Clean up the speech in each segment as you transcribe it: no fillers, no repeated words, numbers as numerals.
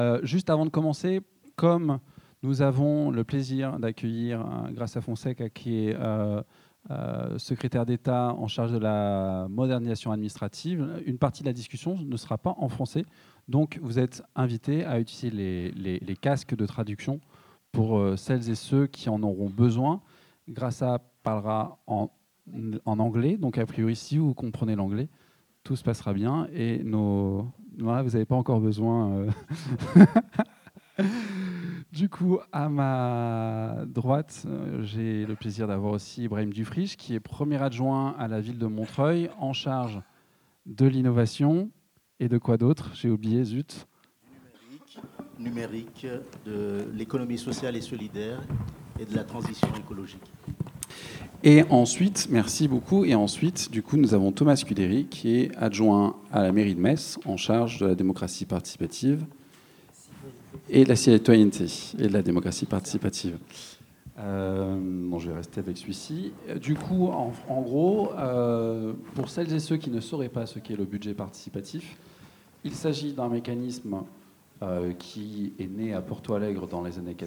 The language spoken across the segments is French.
Juste avant de commencer, comme nous avons le plaisir d'accueillir Graça Fonseca, qui est secrétaire d'État en charge de la modernisation administrative, une partie de la discussion ne sera pas en français. Donc, vous êtes invités à utiliser les casques de traduction pour celles et ceux qui en auront besoin. Graça parlera en anglais, donc a priori, si vous comprenez l'anglais, tout se passera bien. Et voilà, vous n'avez pas encore besoin... Du coup, à ma droite, j'ai le plaisir d'avoir aussi Ibrahim Dufriche, qui est premier adjoint à la ville de Montreuil, en charge de l'innovation et de quoi d'autre? J'ai oublié, zut. Numérique, de l'économie sociale et solidaire et de la transition écologique. Et ensuite, merci beaucoup. Et ensuite, du coup, nous avons Thomas Scuderi, qui est adjoint à la mairie de Metz, en charge de la démocratie participative et de la citoyenneté et de la démocratie participative. Bon, je vais rester avec celui-ci. Du coup, en gros, pour celles et ceux qui ne sauraient pas ce qu'est le budget participatif, il s'agit d'un mécanisme qui est né à Porto Alegre dans les années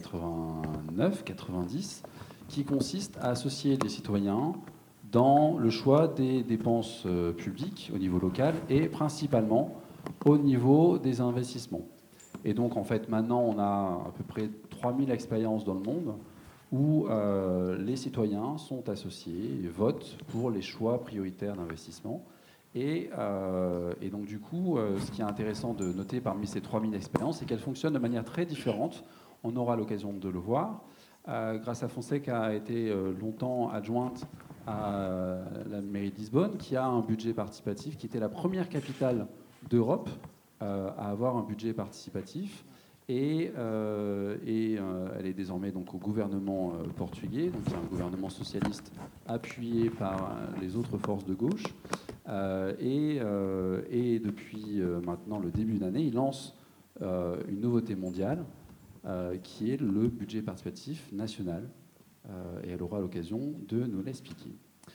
89-90, qui consiste à associer les citoyens dans le choix des dépenses publiques au niveau local et principalement au niveau des investissements. Et donc, en fait, maintenant, on a à peu près 3000 expériences dans le monde où les citoyens sont associés et votent pour les choix prioritaires d'investissement. Et donc, du coup, ce qui est intéressant de noter parmi ces 3000 expériences, c'est qu'elles fonctionnent de manière très différente. On aura l'occasion de le voir. Graça Fonseca a été longtemps adjointe à la mairie de Lisbonne, qui a un budget participatif, qui était la première capitale d'Europe à avoir un budget participatif. Et elle est désormais donc au gouvernement portugais, donc c'est un gouvernement socialiste appuyé par les autres forces de gauche. Et depuis maintenant le début d'année, il lance une nouveauté mondiale qui est le budget participatif national. Et elle aura l'occasion de nous l'expliquer.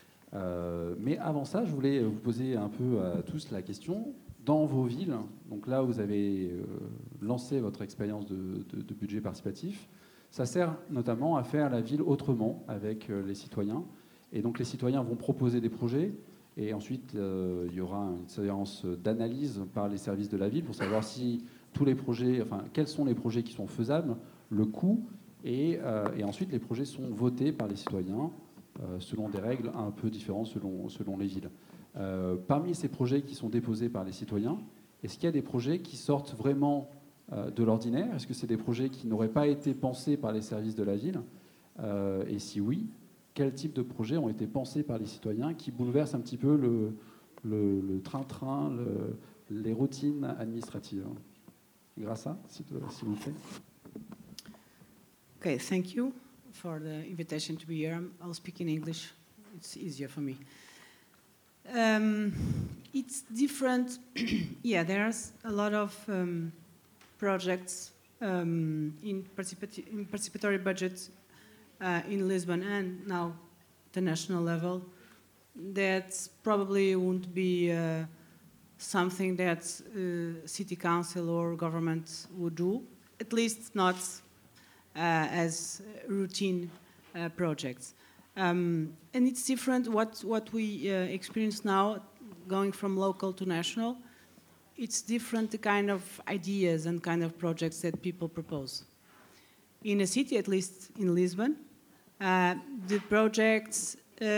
Mais avant ça, je voulais vous poser un peu à tous la question. Dans vos villes, donc là où vous avez lancé votre expérience de budget participatif, ça sert notamment à faire la ville autrement avec les citoyens. Et donc les citoyens vont proposer des projets et ensuite il y aura une séance d'analyse par les services de la ville pour savoir si tous les projets, enfin quels sont les projets qui sont faisables, le coût, et ensuite les projets sont votés par les citoyens selon des règles un peu différentes selon les villes. Parmi ces projets qui sont déposés par les citoyens, est-ce qu'il y a des projets qui sortent vraiment de l'ordinaire? Est-ce que c'est des projets qui n'auraient pas été pensés par les services de la ville? Et si oui, quel type de projets ont été pensés par les citoyens qui bouleversent un petit peu le train-train, les routines administratives? Graça, s'il vous plaît. Okay, thank you for the invitation to be here. I'll speak in English. It's easier for me. It's different. Yeah, there's a lot of projects in participatory budgets in Lisbon and now the national level that probably won't be something that city council or government would do, at least not as routine projects. And it's different what we experience now, going from local to national. It's different the kind of ideas and kind of projects that people propose. In a city, at least in Lisbon, the projects,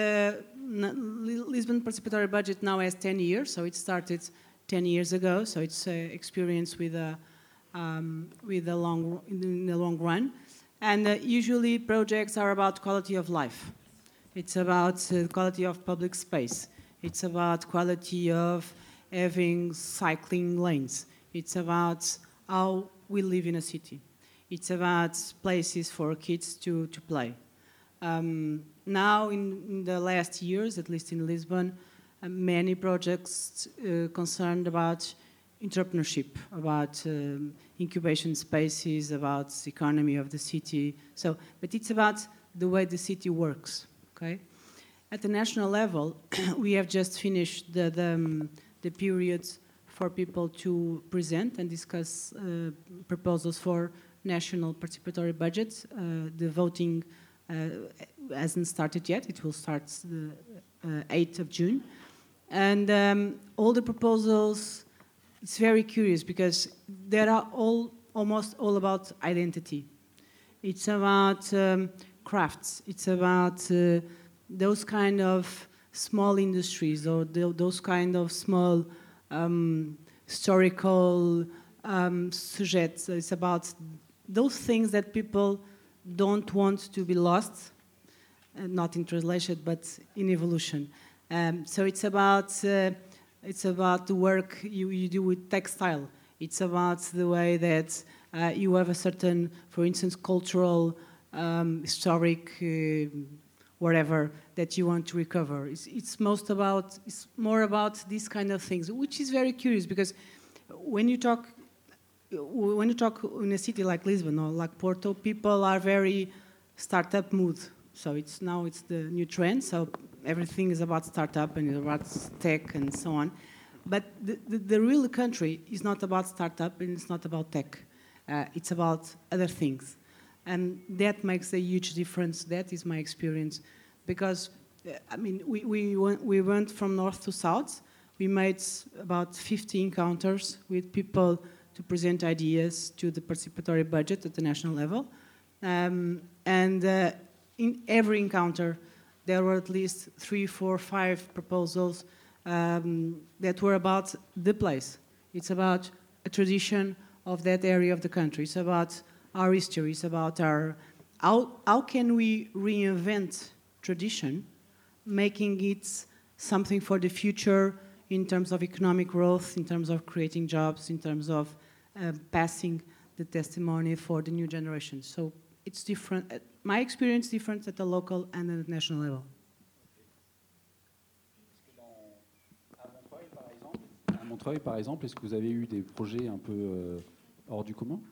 Lisbon Participatory Budget now has 10 years, so it started 10 years ago, so it's experience in the long run. And usually projects are about quality of life. It's about quality of public space. It's about quality of having cycling lanes. It's about how we live in a city. It's about places for kids to play. Now, in the last years, at least in Lisbon, many projects concerned about entrepreneurship, about incubation spaces, about the economy of the city. So, but it's about the way the city works. Okay, at the national level, we have just finished the period for people to present and discuss proposals for national participatory budgets. The voting hasn't started yet. It will start the 8th of June. And all the proposals, it's very curious because they are almost all about identity. It's about crafts. It's about those kind of small industries or those kind of small historical sujets. It's about those things that people don't want to be lost, not in translation, but in evolution. So it's about the work you do with textile. It's about the way that you have a certain, for instance, cultural, historic, whatever that you want to recover. It's more about these kind of things, which is very curious because when you talk in a city like Lisbon or like Porto, people are very startup mood. So it's the new trend. So everything is about startup and about tech and so on. But the real country is not about startup and it's not about tech. It's about other things. And that makes a huge difference. That is my experience. Because, I mean, we went from north to south. We made about 50 encounters with people to present ideas to the participatory budget at the national level. In every encounter, there were at least 3, 4, 5 proposals that were about the place. It's about a tradition of that area of the country. It's about our history. It's about how can we reinvent tradition, making it something for the future in terms of economic growth, in terms of creating jobs, in terms of passing the testimony for the new generation. So it's different. My experience is different at the local and at the national level. À Montreuil, par exemple, est-ce que vous avez eu des projets un peu hors du commun?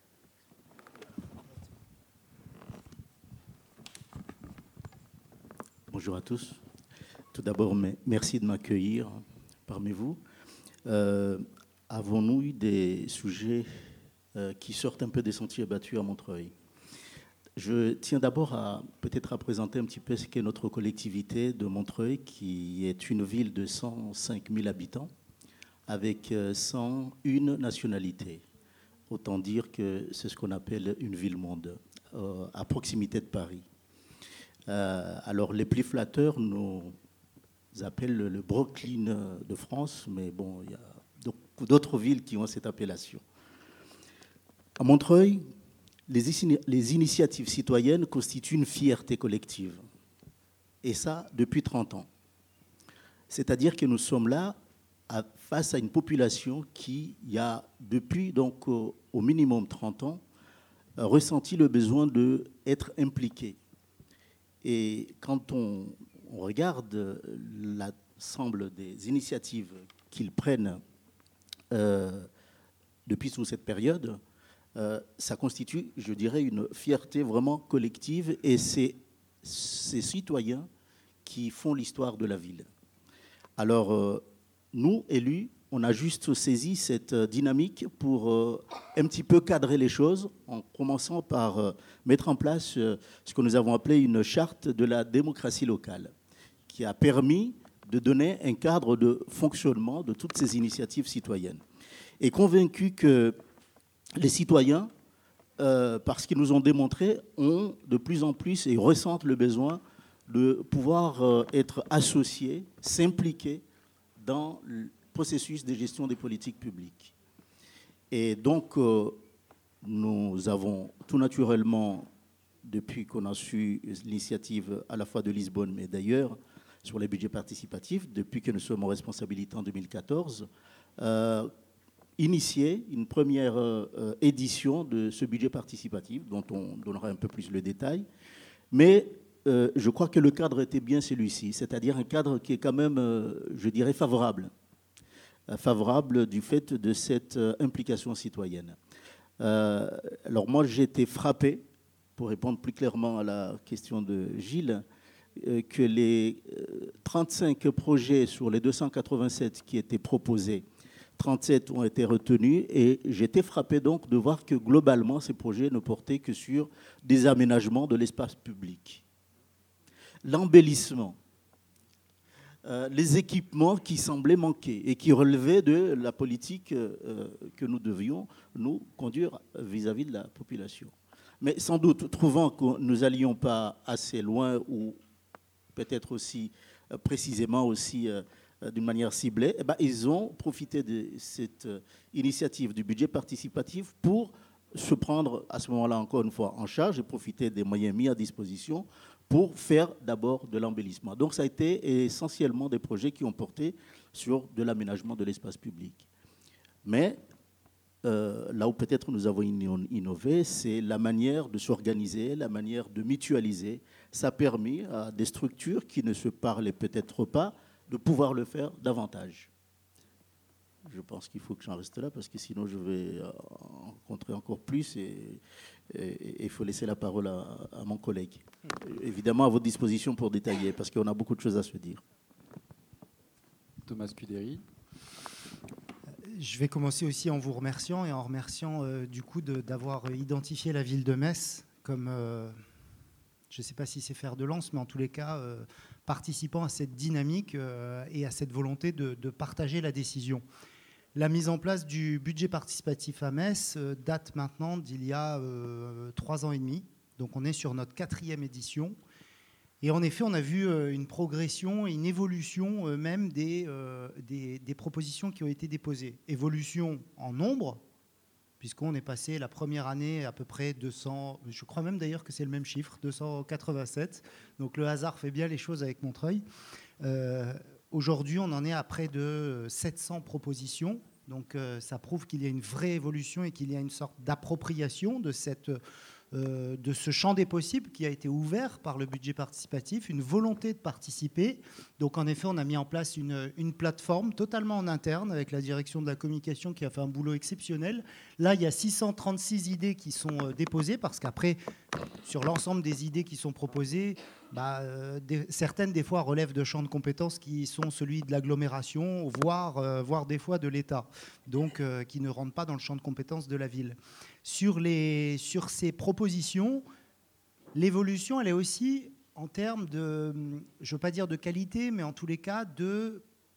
Bonjour à tous. Tout d'abord, merci de m'accueillir parmi vous. Avons-nous eu des sujets qui sortent un peu des sentiers battus à Montreuil? Je tiens d'abord peut-être à présenter un petit peu ce qu'est notre collectivité de Montreuil, qui est une ville de 105 000 habitants, avec 101 nationalités. Autant dire que c'est ce qu'on appelle une ville-monde, à proximité de Paris. Alors, les plus flatteurs nous appellent le Brooklyn de France, mais bon, il y a beaucoup d'autres villes qui ont cette appellation. À Montreuil, les initiatives citoyennes constituent une fierté collective. Et ça, depuis 30 ans. C'est-à-dire que nous sommes là face à une population qui, il y a depuis donc au minimum 30 ans, ressenti le besoin d'être impliquée. Et quand on regarde l'ensemble des initiatives qu'ils prennent depuis toute cette période, ça constitue, je dirais, une fierté vraiment collective et c'est ces citoyens qui font l'histoire de la ville. Alors, nous, élus, on a juste saisi cette dynamique pour un petit peu cadrer les choses en commençant par mettre en place ce que nous avons appelé une charte de la démocratie locale qui a permis de donner un cadre de fonctionnement de toutes ces initiatives citoyennes. Et convaincu que les citoyens, parce qu'ils nous ont démontré, ont de plus en plus et ressentent le besoin de pouvoir être associés, s'impliquer dans le processus de gestion des politiques publiques. Et donc, nous avons tout naturellement, depuis qu'on a su l'initiative à la fois de Lisbonne, mais d'ailleurs sur les budgets participatifs, depuis que nous sommes en responsabilité en 2014, initié une première édition de ce budget participatif, dont on donnera un peu plus le détail. Mais je crois que le cadre était bien celui-ci, c'est-à-dire un cadre qui est quand même, je dirais, favorable du fait de cette implication citoyenne. Alors moi, j'ai été frappé, pour répondre plus clairement à la question de Gilles, que les 35 projets sur les 287 qui étaient proposés, 37 ont été retenus et j'étais frappé donc de voir que globalement, ces projets ne portaient que sur des aménagements de l'espace public. L'embellissement, les équipements qui semblaient manquer et qui relevaient de la politique que nous devions nous conduire vis-à-vis de la population. Mais sans doute, trouvant que nous n'allions pas assez loin ou peut-être aussi précisément aussi d'une manière ciblée, eh bien, ils ont profité de cette initiative du budget participatif pour se prendre à ce moment-là encore une fois en charge et profiter des moyens mis à disposition pour faire d'abord de l'embellissement. Donc ça a été essentiellement des projets qui ont porté sur de l'aménagement de l'espace public. Mais là où peut-être nous avons innové, c'est la manière de s'organiser, la manière de mutualiser. Ça a permis à des structures qui ne se parlaient peut-être pas de pouvoir le faire davantage. Je pense qu'il faut que j'en reste là parce que sinon je vais rencontrer encore plus et il faut laisser la parole à mon collègue. Évidemment à votre disposition pour détailler parce qu'on a beaucoup de choses à se dire. Thomas Scuderi. Je vais commencer aussi en vous remerciant et en remerciant du coup d'avoir identifié la ville de Metz comme, je ne sais pas si c'est fer de lance, mais en tous les cas, participant à cette dynamique et à cette volonté de partager la décision. La mise en place du budget participatif à Metz date maintenant d'il y a 3 ans et demi. Donc on est sur notre 4e édition. Et en effet, on a vu une progression et une évolution même des propositions qui ont été déposées. Évolution en nombre, puisqu'on est passé la première année à peu près 200, je crois même d'ailleurs que c'est le même chiffre, 287. Donc le hasard fait bien les choses avec Montreuil. Aujourd'hui, on en est à près de 700 propositions. Donc ça prouve qu'il y a une vraie évolution et qu'il y a une sorte d'appropriation de ce champ des possibles qui a été ouvert par le budget participatif, une volonté de participer. Donc en effet, on a mis en place une plateforme totalement en interne avec la direction de la communication qui a fait un boulot exceptionnel. Là, il y a 636 idées qui sont déposées parce qu'après, sur l'ensemble des idées qui sont proposées, certaines des fois relèvent de champs de compétences qui sont celui de l'agglomération, voire des fois de l'État, donc qui ne rentrent pas dans le champ de compétences de la ville. Sur ces propositions, l'évolution, elle est aussi en termes de, je ne veux pas dire de qualité, mais en tous les cas de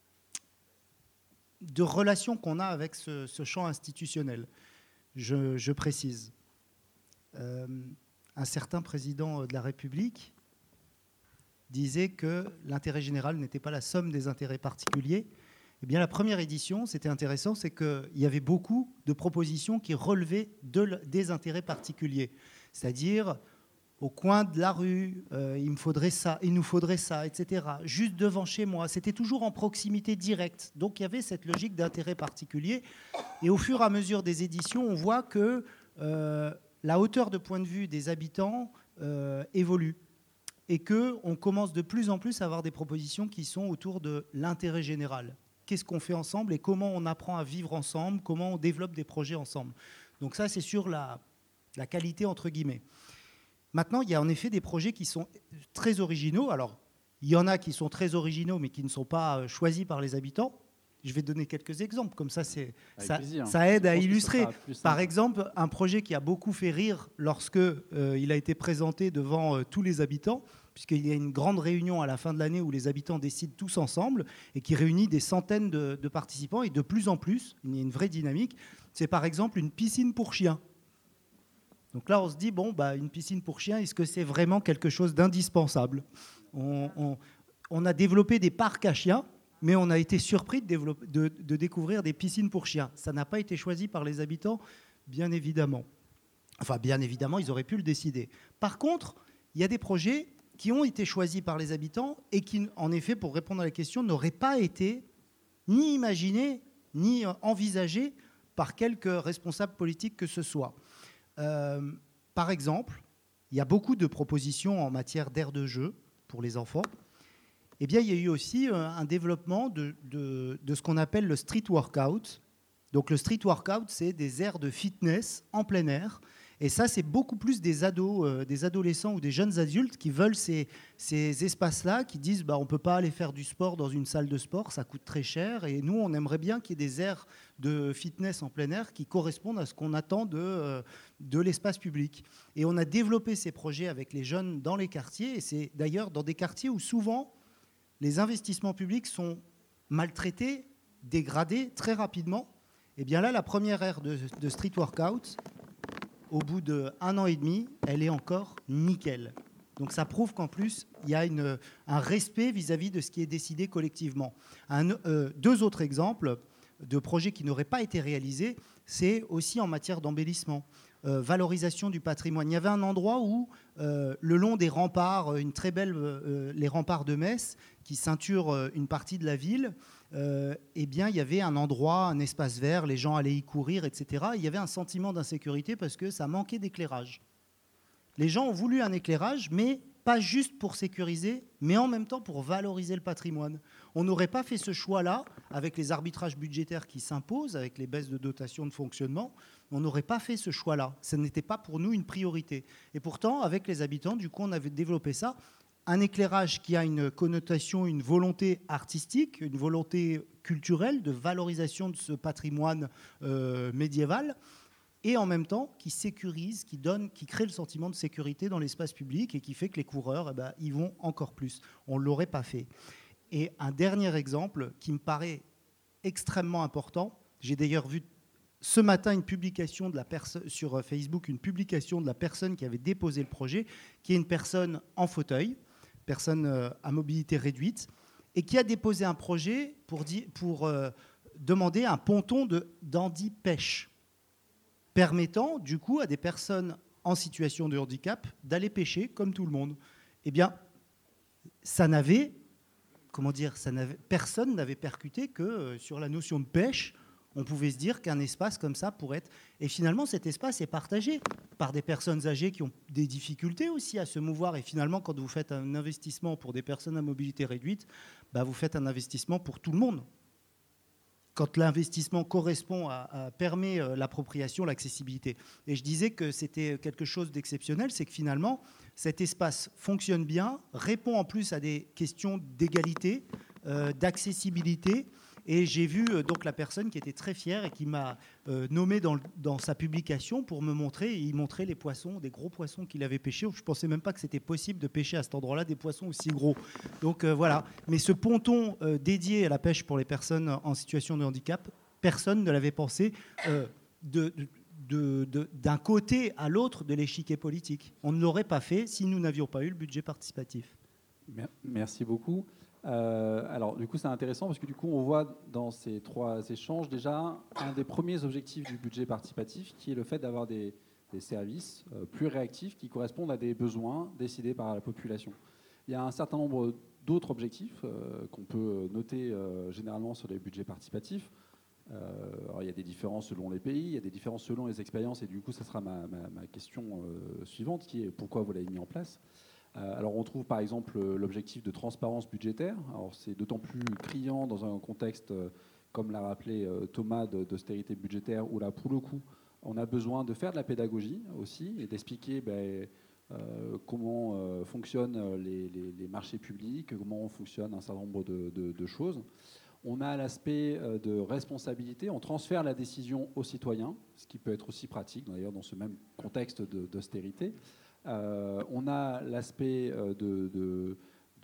relation qu'on a avec ce champ institutionnel. Je précise. Un certain président de la République disait que l'intérêt général n'était pas la somme des intérêts particuliers. Eh bien, la première édition, c'était intéressant, c'est qu'il y avait beaucoup de propositions qui relevaient des intérêts particuliers. C'est-à-dire, au coin de la rue, il nous faudrait ça, etc. Juste devant chez moi, c'était toujours en proximité directe. Donc, il y avait cette logique d'intérêt particulier. Et au fur et à mesure des éditions, on voit que la hauteur de point de vue des habitants évolue. Et qu'on commence de plus en plus à avoir des propositions qui sont autour de l'intérêt général. Qu'est-ce qu'on fait ensemble et comment on apprend à vivre ensemble, comment on développe des projets ensemble. Donc ça, c'est sur la qualité, entre guillemets. Maintenant, il y a en effet des projets qui sont très originaux. Alors, il y en a qui sont très originaux, mais qui ne sont pas choisis par les habitants. Je vais donner quelques exemples, comme ça, ça aide à illustrer. Par exemple, un projet qui a beaucoup fait rire lorsque il a été présenté devant tous les habitants, puisqu'il y a une grande réunion à la fin de l'année où les habitants décident tous ensemble et qui réunit des centaines de participants et de plus en plus, il y a une vraie dynamique, c'est par exemple une piscine pour chiens. Donc là, on se dit, une piscine pour chiens, est-ce que c'est vraiment quelque chose d'indispensable ? On a développé des parcs à chiens, mais on a été surpris de découvrir des piscines pour chiens. Ça n'a pas été choisi par les habitants, bien évidemment. Enfin, bien évidemment, ils auraient pu le décider. Par contre, il y a des projets qui ont été choisis par les habitants et qui, en effet, pour répondre à la question, n'auraient pas été ni imaginés, ni envisagés par quelque responsable politique que ce soit. Par exemple, il y a beaucoup de propositions en matière d'aires de jeu pour les enfants. Eh bien, il y a eu aussi un développement de ce qu'on appelle le street workout. Donc, le street workout, c'est des aires de fitness en plein air. Et ça, c'est beaucoup plus des ados, des adolescents ou des jeunes adultes qui veulent ces espaces-là, qui disent on ne peut pas aller faire du sport dans une salle de sport, ça coûte très cher. Et nous, on aimerait bien qu'il y ait des aires de fitness en plein air qui correspondent à ce qu'on attend de l'espace public. Et on a développé ces projets avec les jeunes dans les quartiers. Et c'est d'ailleurs dans des quartiers où souvent les investissements publics sont maltraités, dégradés très rapidement. Et bien là, la première aire de street workout, au bout d'1 an et demi, elle est encore nickel. Donc ça prouve qu'en plus, il y a un respect vis-à-vis de ce qui est décidé collectivement. Deux autres exemples de projets qui n'auraient pas été réalisés, c'est aussi en matière d'embellissement, valorisation du patrimoine. Il y avait un endroit où, le long des remparts, les remparts de Metz, qui ceinturent une partie de la ville, eh bien, il y avait un endroit, un espace vert, les gens allaient y courir, etc. Il y avait un sentiment d'insécurité parce que ça manquait d'éclairage. Les gens ont voulu un éclairage, mais pas juste pour sécuriser, mais en même temps pour valoriser le patrimoine. On n'aurait pas fait ce choix-là avec les arbitrages budgétaires qui s'imposent, avec les baisses de dotation de fonctionnement. On n'aurait pas fait ce choix-là. Ce n'était pas pour nous une priorité. Et pourtant, avec les habitants, du coup, on avait développé ça. Un éclairage qui a une connotation, une volonté artistique, une volonté culturelle de valorisation de ce patrimoine médiéval, et en même temps qui sécurise, qui crée le sentiment de sécurité dans l'espace public et qui fait que les coureurs, y vont encore plus. On ne l'aurait pas fait. Et un dernier exemple qui me paraît extrêmement important, j'ai d'ailleurs vu ce matin une publication sur Facebook, une publication de la personne qui avait déposé le projet, qui est une personne en fauteuil, personne à mobilité réduite, et qui a déposé un projet pour demander un ponton d'handi-pêche, permettant du coup à des personnes en situation de handicap d'aller pêcher comme tout le monde. Eh bien, personne n'avait percuté que sur la notion de pêche, on pouvait se dire qu'un espace comme ça pourrait être... Et finalement, cet espace est partagé par des personnes âgées qui ont des difficultés aussi à se mouvoir. Et finalement, quand vous faites un investissement pour des personnes à mobilité réduite, vous faites un investissement pour tout le monde. Quand l'investissement permet l'appropriation, l'accessibilité. Et je disais que c'était quelque chose d'exceptionnel, c'est que finalement, cet espace fonctionne bien, répond en plus à des questions d'égalité, d'accessibilité. Et j'ai vu donc la personne qui était très fière et qui m'a nommé dans sa publication pour me montrer. Il montrait les poissons, des gros poissons qu'il avait pêchés. Je ne pensais même pas que c'était possible de pêcher à cet endroit-là des poissons aussi gros. Donc voilà. Mais ce ponton dédié à la pêche pour les personnes en situation de handicap, personne ne l'avait pensé d'un côté à l'autre de l'échiquier politique. On ne l'aurait pas fait si nous n'avions pas eu le budget participatif. Merci beaucoup. Alors, du coup, c'est intéressant parce que du coup, on voit dans ces 3 échanges déjà un des premiers objectifs du budget participatif qui est le fait d'avoir des services plus réactifs qui correspondent à des besoins décidés par la population. Il y a un certain nombre d'autres objectifs qu'on peut noter généralement sur les budgets participatifs. Alors, il y a des différences selon les pays, il y a des différences selon les expériences et du coup, ça sera ma question suivante qui est pourquoi vous l'avez mis en place. Alors on trouve par exemple l'objectif de transparence budgétaire. Alors c'est d'autant plus criant dans un contexte, comme l'a rappelé Thomas, d'austérité budgétaire, où là pour le coup on a besoin de faire de la pédagogie aussi et d'expliquer comment fonctionnent les marchés publics, comment fonctionne un certain nombre de choses. On a l'aspect de responsabilité, on transfère la décision aux citoyens, ce qui peut être aussi pratique d'ailleurs dans ce même contexte d'austérité. On a l'aspect de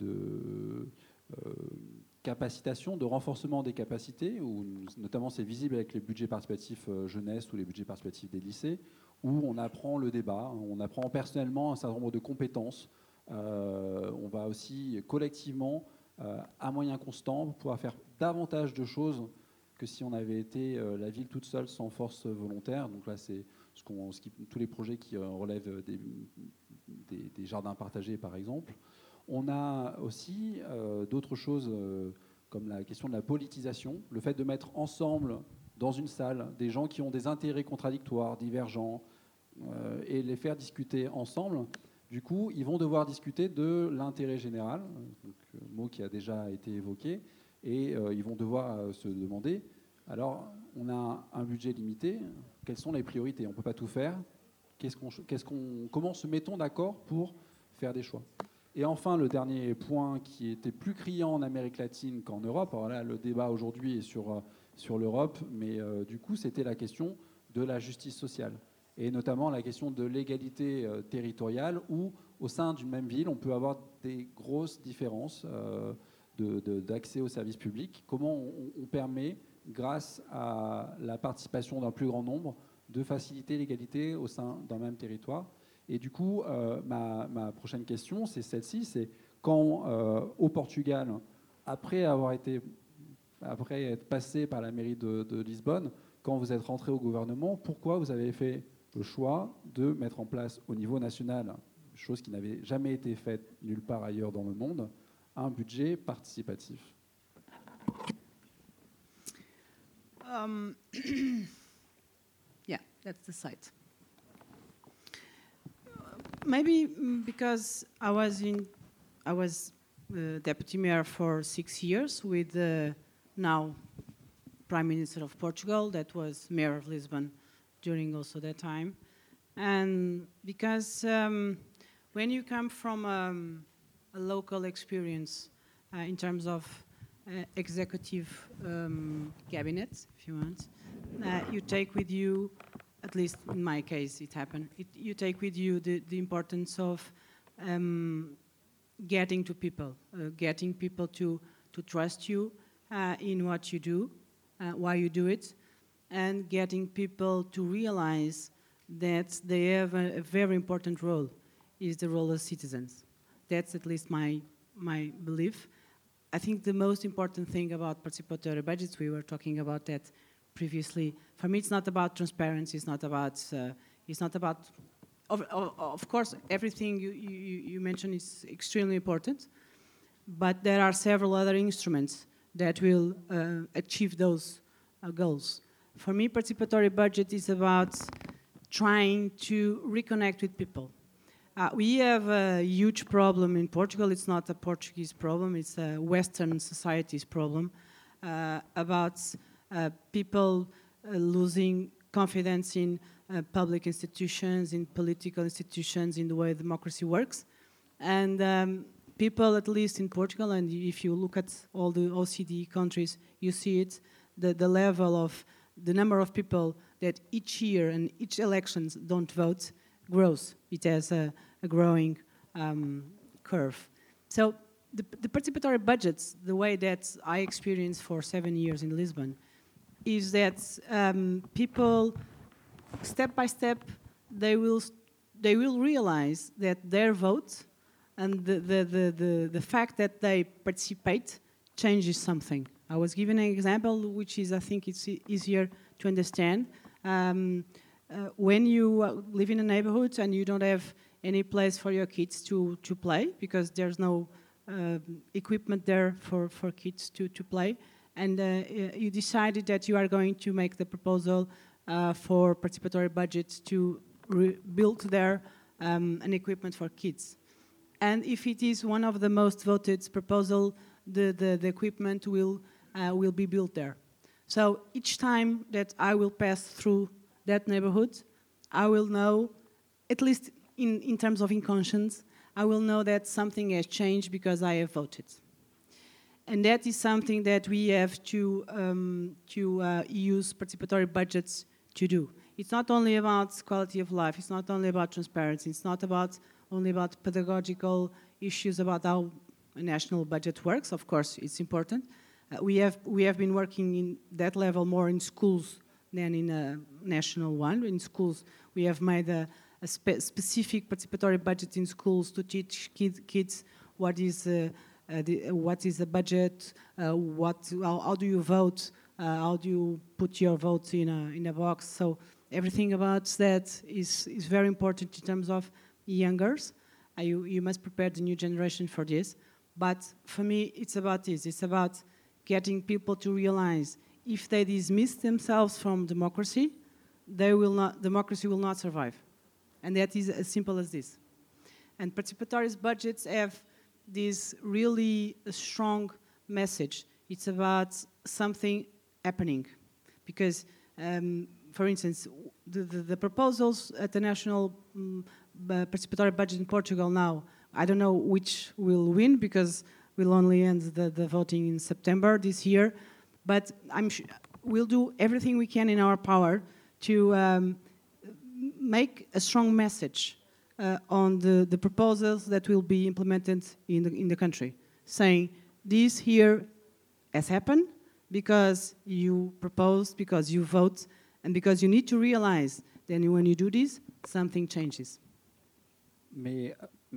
capacitation, de renforcement des capacités, où notamment c'est visible avec les budgets participatifs jeunesse ou les budgets participatifs des lycées, où on apprend le débat, on apprend personnellement un certain nombre de compétences. On va aussi collectivement, à moyen constant, pouvoir faire davantage de choses que si on avait été la ville toute seule sans force volontaire. Donc là, c'est tous les projets qui relèvent des jardins partagés, par exemple. On a aussi d'autres choses comme la question de la politisation, le fait de mettre ensemble dans une salle des gens qui ont des intérêts contradictoires, divergents, et les faire discuter ensemble. Du coup, ils vont devoir discuter de l'intérêt général, donc, mot qui a déjà été évoqué, et ils vont devoir se demander, alors on a un budget limité, quelles sont les priorités? On ne peut pas tout faire. Comment se met-on d'accord pour faire des choix? Et enfin, le dernier point qui était plus criant en Amérique latine qu'en Europe, alors là, le débat aujourd'hui est sur l'Europe, mais du coup, c'était la question de la justice sociale, et notamment la question de l'égalité territoriale, où au sein d'une même ville, on peut avoir des grosses différences d'accès aux services publics. Comment on permet, grâce à la participation d'un plus grand nombre, de faciliter l'égalité au sein d'un même territoire? Et du coup, ma prochaine question, c'est celle-ci, c'est quand, au Portugal, après être passé par la mairie de Lisbonne, quand vous êtes rentré au gouvernement, pourquoi vous avez fait le choix de mettre en place au niveau national, chose qui n'avait jamais été faite nulle part ailleurs dans le monde, un budget participatif? Yeah, that's the site. Maybe because I was deputy mayor for 6 years with the now Prime Minister of Portugal, that was mayor of Lisbon during also that time, and because when you come from a local experience in terms of executive cabinet, if you want, you take with you, at least in my case it happened, you take with you the importance of getting to people, getting people to trust you in what you do, why you do it, and getting people to realize that they have a very important role, is the role of citizens. That's at least my belief. I think the most important thing about participatory budgets, we were talking about that previously. For me, it's not about transparency. It's not about. Of course, everything you mentioned is extremely important, but there are several other instruments that will achieve those goals. For me, participatory budget is about trying to reconnect with people. We have a huge problem in Portugal. It's not a Portuguese problem. It's a Western society's problem about people losing confidence in public institutions, in political institutions, in the way democracy works. And people, at least in Portugal, and if you look at all the OECD countries, you see it, the level of the number of people that each year and each elections don't vote grows. It has a growing curve. So the participatory budgets, the way that I experienced for 7 years in Lisbon, is that people, step by step, they will realize that their vote and the fact that they participate changes something. I was given an example, which is, I think it's easier to understand. When you live in a neighborhood and you don't have any place for your kids to play, because there's no equipment there for kids to play, and you decided that you are going to make the proposal for participatory budgets to build there an equipment for kids. And if it is one of the most voted proposal, the equipment will be built there. So each time that I will pass through that neighborhood, I will know, at least in terms of conscience, I will know that something has changed because I have voted. And that is something that we have to use participatory budgets to do. It's not only about quality of life, it's not only about transparency, it's not only about pedagogical issues about how a national budget works. Of course, it's important. We have been working in that level more in schools than in a national one. In schools, we have made a specific participatory budget in schools to teach kids what is a budget, how do you vote, how do you put your vote in a box. So everything about that is very important in terms of youngers. You must prepare the new generation for this. But for me, it's about this. It's about getting people to realize if they dismiss themselves from democracy, democracy will not survive. And that is as simple as this. And participatory budgets have this really strong message. It's about something happening. Because for instance, the proposals at the national participatory budget in Portugal now, I don't know which will win because we'll only end the voting in September this year, but we'll do everything we can in our power to make a strong message on the proposals that will be implemented in the country, saying this here has happened because you proposed, because you vote, and because you need to realize that when you do this, something changes. Mais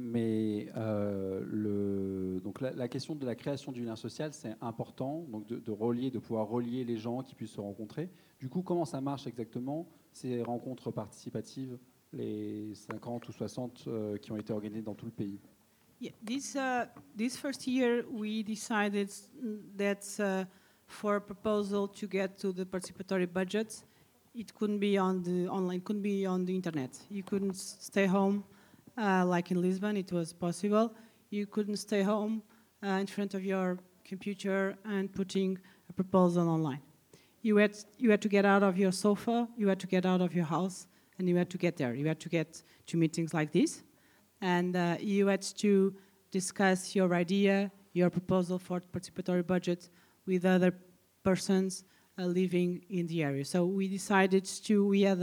donc la question de la création du lien social, c'est important, donc de pouvoir relier les gens qui puissent se rencontrer. Du coup, comment ça marche exactement, ces rencontres participatives, les 50 ou 60 qui ont été organisées dans tout le pays? Yeah, this first year, we decided that for a proposal to get to the participatory budget, it couldn't be on the online, couldn't be on the internet. You couldn't stay home. Like in Lisbon, it was possible. You couldn't stay home in front of your computer and putting a proposal online. You had to get out of your sofa, you had to get out of your house, and you had to get there. You had to get to meetings like this, and you had to discuss your idea, your proposal for the participatory budget with other persons living in the area. So we decided we had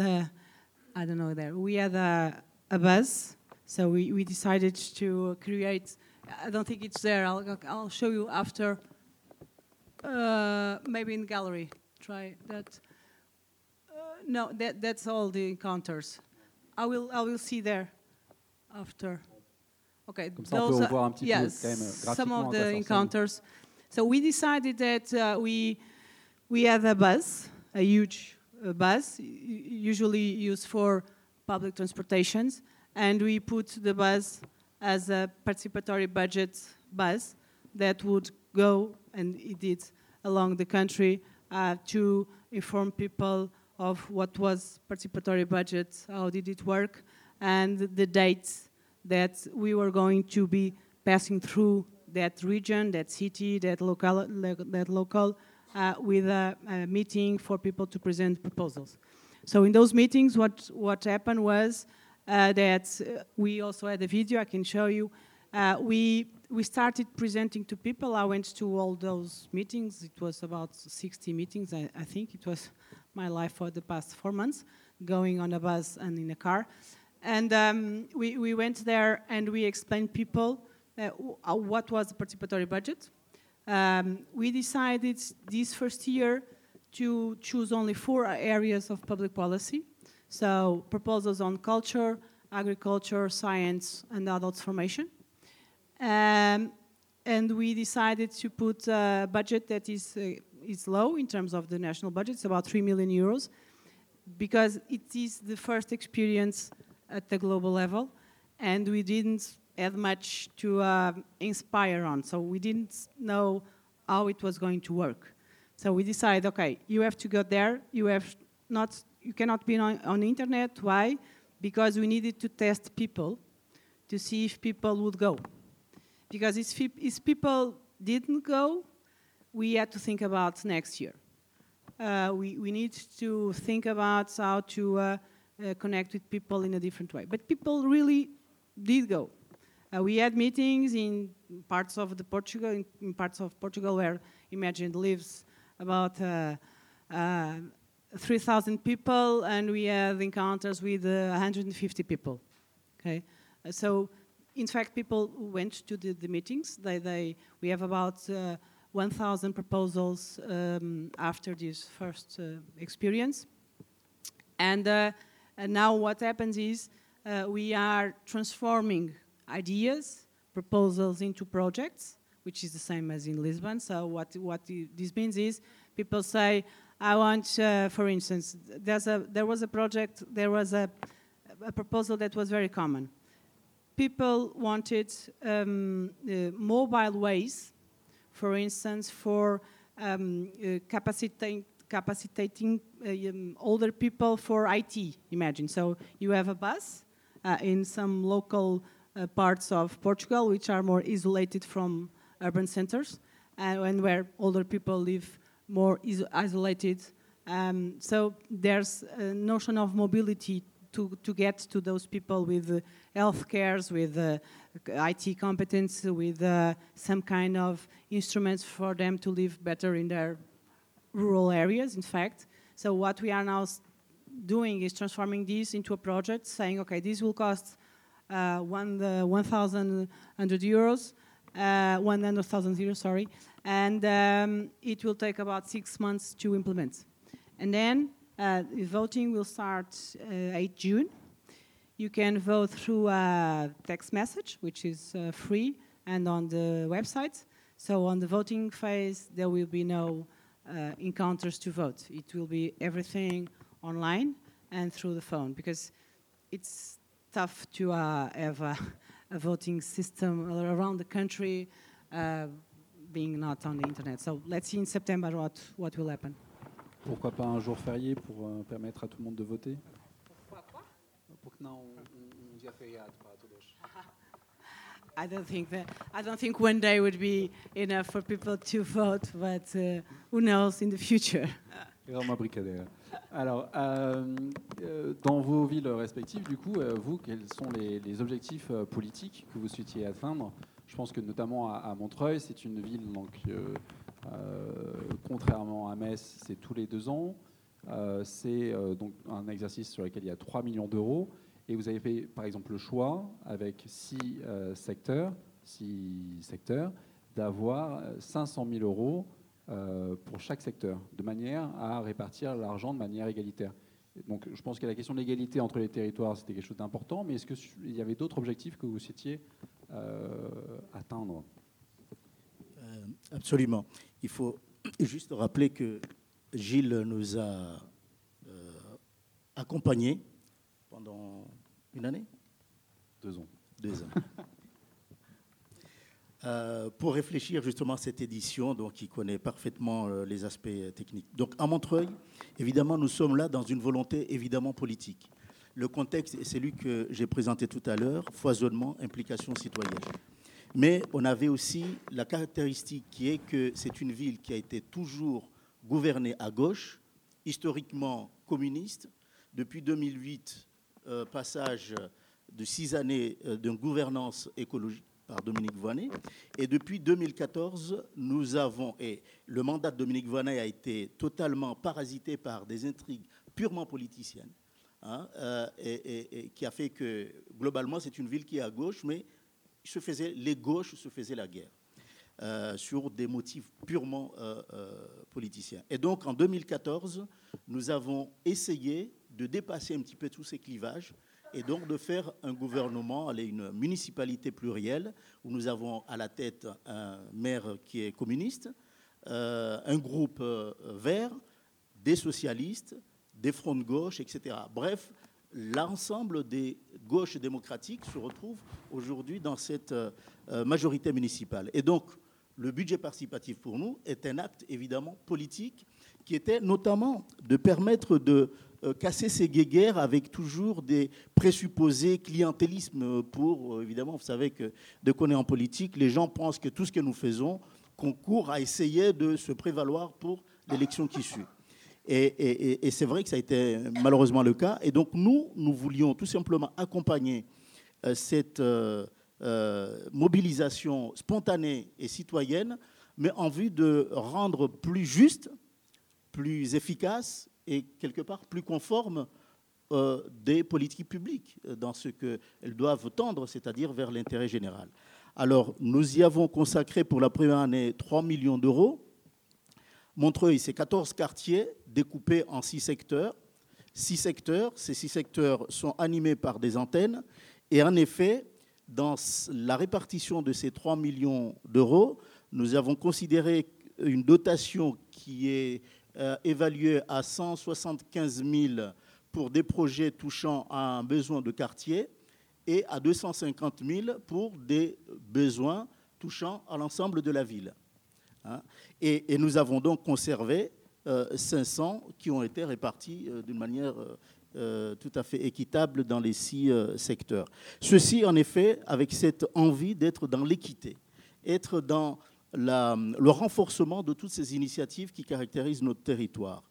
a buzz. So we decided to create, I don't think it's there, I'll show you after, maybe in gallery, try that. No, that's all the encounters. I will see there after. Okay, Comme ça, on peut revoir un petit peu, yes, quand même, graphiquement, some of à quoi the ça ressemble. encounters. So we decided that we had a bus, a huge bus, usually used for public transportations. And we put the bus as a participatory budget bus that would go, and it did, along the country to inform people of what was participatory budget, how did it work, and the dates that we were going to be passing through that region, that city, that local with a meeting for people to present proposals. So in those meetings, what happened was that we also had a video I can show you. We started presenting to people. I went to all those meetings. It was about 60 meetings, I think. It was my life for the past 4 months, going on a bus and in a car. And we went there and we explained people what was the participatory budget. We decided this first year to choose only 4 areas of public policy. So proposals on culture, agriculture, science, and adult formation. And we decided to put a budget that is low in terms of the national budget. It's about 3 million euros, because it is the first experience at the global level, and we didn't have much to inspire on. So we didn't know how it was going to work. So we decided, okay, you have to go there. You cannot be on the internet. Why? Because we needed to test people to see if people would go. Because if people didn't go, we had to think about next year. We need to think about how to connect with people in a different way. But people really did go. We had meetings in parts of Portugal where Imagine lives about 3,000 people, and we had encounters with 150 people. Okay, so in fact, people went to the meetings. We have about 1,000 proposals after this first experience, and now what happens is we are transforming ideas, proposals into projects, which is the same as in Lisbon. So what this means is people say, I want, for instance, there was a proposal that was very common. People wanted mobile ways, for instance, for capacitating older people for IT, imagine. So you have a bus in some local parts of Portugal, which are more isolated from urban centers, and where older people live more isolated So there's a notion of mobility to get to those people with health cares, with IT competence, with some kind of instruments for them to live better in their rural areas, in fact. So what we are now doing is transforming this into a project, saying, okay, this will cost 1,100 euros, 100,000 euros, sorry, and it will take about 6 months to implement. And then voting will start 8 June. You can vote through a text message, which is free, and on the website. So on the voting phase, there will be no encounters to vote. It will be everything online and through the phone, because it's tough to have a voting system around the country being not on the internet. So let's see in September what will happen. Pourquoi pas un jour férié pour permettre à tout le monde de voter? Pourquoi quoi? Porque não um dia feriado para todos? I don't think one day would be enough for people to vote, but who knows in the future. Era uma brincadeira. Alors, dans vos villes respectives, du coup, vous, quels sont les objectifs politiques que vous souhaitiez atteindre? Je pense que notamment à Montreuil, c'est une ville, donc, contrairement à Metz, c'est tous les 2 ans. C'est donc un exercice sur lequel il y a 3 millions d'euros. Et vous avez fait, par exemple, le choix, avec 6 secteurs, d'avoir 500 000 euros pour chaque secteur, de manière à répartir l'argent de manière égalitaire. Donc, je pense que la question de l'égalité entre les territoires, c'était quelque chose d'important, mais est-ce qu'il y avait d'autres objectifs que vous souhaitiez atteindre? Absolument. Il faut juste rappeler que Gilles nous a accompagnés pendant une année? 2 ans. 2 ans. Pour réfléchir justement à cette édition, donc, qui connaît parfaitement les aspects techniques. Donc à Montreuil, évidemment, nous sommes là dans une volonté évidemment politique. Le contexte est celui que j'ai présenté tout à l'heure, foisonnement, implication citoyenne. Mais on avait aussi la caractéristique qui est que c'est une ville qui a été toujours gouvernée à gauche, historiquement communiste. Depuis 2008, passage de 6 années d'une gouvernance écologique par Dominique Voynet. Et depuis 2014, nous avons, et le mandat de Dominique Voynet a été totalement parasité par des intrigues purement politiciennes, hein, et qui a fait que, globalement, c'est une ville qui est à gauche, mais les gauches se faisaient la guerre sur des motifs purement politiciens. Et donc, en 2014, nous avons essayé de dépasser un petit peu tous ces clivages et donc de faire un gouvernement, une municipalité plurielle, où nous avons à la tête un maire qui est communiste, un groupe vert, des socialistes, des fronts de gauche, etc. Bref, l'ensemble des gauches démocratiques se retrouve aujourd'hui dans cette majorité municipale. Et donc, le budget participatif pour nous est un acte évidemment politique qui était notamment de permettre de casser ces guéguerres avec toujours des présupposés clientélisme pour, évidemment, vous savez que dès qu'on est en politique, les gens pensent que tout ce que nous faisons concourt à essayer de se prévaloir pour l'élection qui suit. Et c'est vrai que ça a été malheureusement le cas. Et donc nous voulions tout simplement accompagner cette mobilisation spontanée et citoyenne, mais en vue de rendre plus juste, plus efficace et quelque part plus conforme des politiques publiques dans ce qu'elles doivent tendre, c'est-à-dire vers l'intérêt général. Alors, nous y avons consacré pour la première année 3 millions d'euros. Montreuil, c'est 14 quartiers découpés en 6 secteurs. 6 secteurs, ces 6 secteurs sont animés par des antennes. Et en effet, dans la répartition de ces 3 millions d'euros, nous avons considéré une dotation qui est évaluée à 175 000 pour des projets touchant à un besoin de quartier et à 250 000 pour des besoins touchant à l'ensemble de la ville. Et nous avons donc conservé 500 qui ont été répartis d'une manière tout à fait équitable dans les 6 secteurs. Ceci, en effet, avec cette envie d'être dans l'équité, être dans le renforcement de toutes ces initiatives qui caractérisent notre territoire.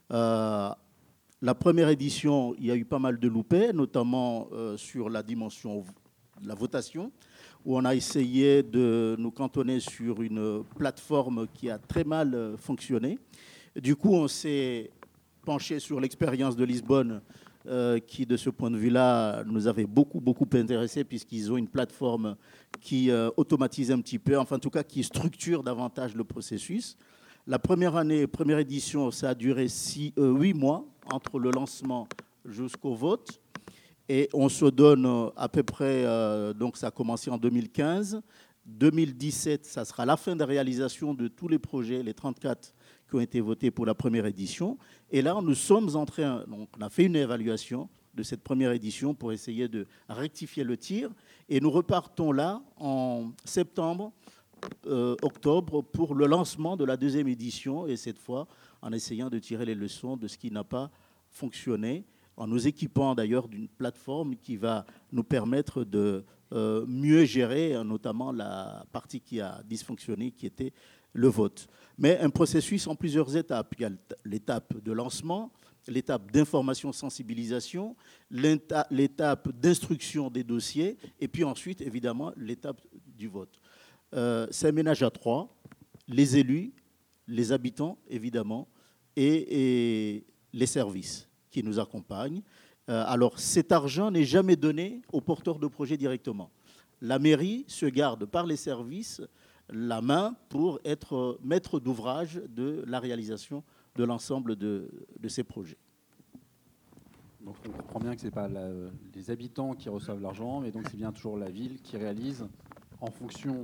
La première édition, il y a eu pas mal de loupés, notamment sur la dimension de la votation, où on a essayé de nous cantonner sur une plateforme qui a très mal fonctionné. Du coup, on s'est penché sur l'expérience de Lisbonne, qui, de ce point de vue-là, nous avait beaucoup intéressé, puisqu'ils ont une plateforme qui automatise un petit peu, enfin, en tout cas, qui structure davantage le processus. La première année, première édition, ça a duré 8 mois, entre le lancement jusqu'au vote. Et on se donne à peu près, donc ça a commencé en 2015. 2017, ça sera la fin de réalisation de tous les projets, les 34 qui ont été votés pour la première édition. Et là, nous sommes en train, donc on a fait une évaluation de cette première édition pour essayer de rectifier le tir. Et nous repartons là en septembre, octobre, pour le lancement de la deuxième édition. Et cette fois, en essayant de tirer les leçons de ce qui n'a pas fonctionné, en nous équipant d'ailleurs d'une plateforme qui va nous permettre de mieux gérer, notamment la partie qui a dysfonctionné, qui était le vote. Mais un processus en plusieurs étapes. Il y a l'étape de lancement, l'étape d'information-sensibilisation, l'étape d'instruction des dossiers, et puis ensuite, évidemment, l'étape du vote. C'est un ménage à trois, les élus, les habitants, évidemment, et les services qui nous accompagnent. Alors, cet argent n'est jamais donné aux porteurs de projets directement. La mairie se garde par les services la main pour être maître d'ouvrage de la réalisation de l'ensemble de ces projets. Donc on comprend bien que ce n'est pas les habitants qui reçoivent l'argent, mais donc c'est bien toujours la ville qui réalise en fonction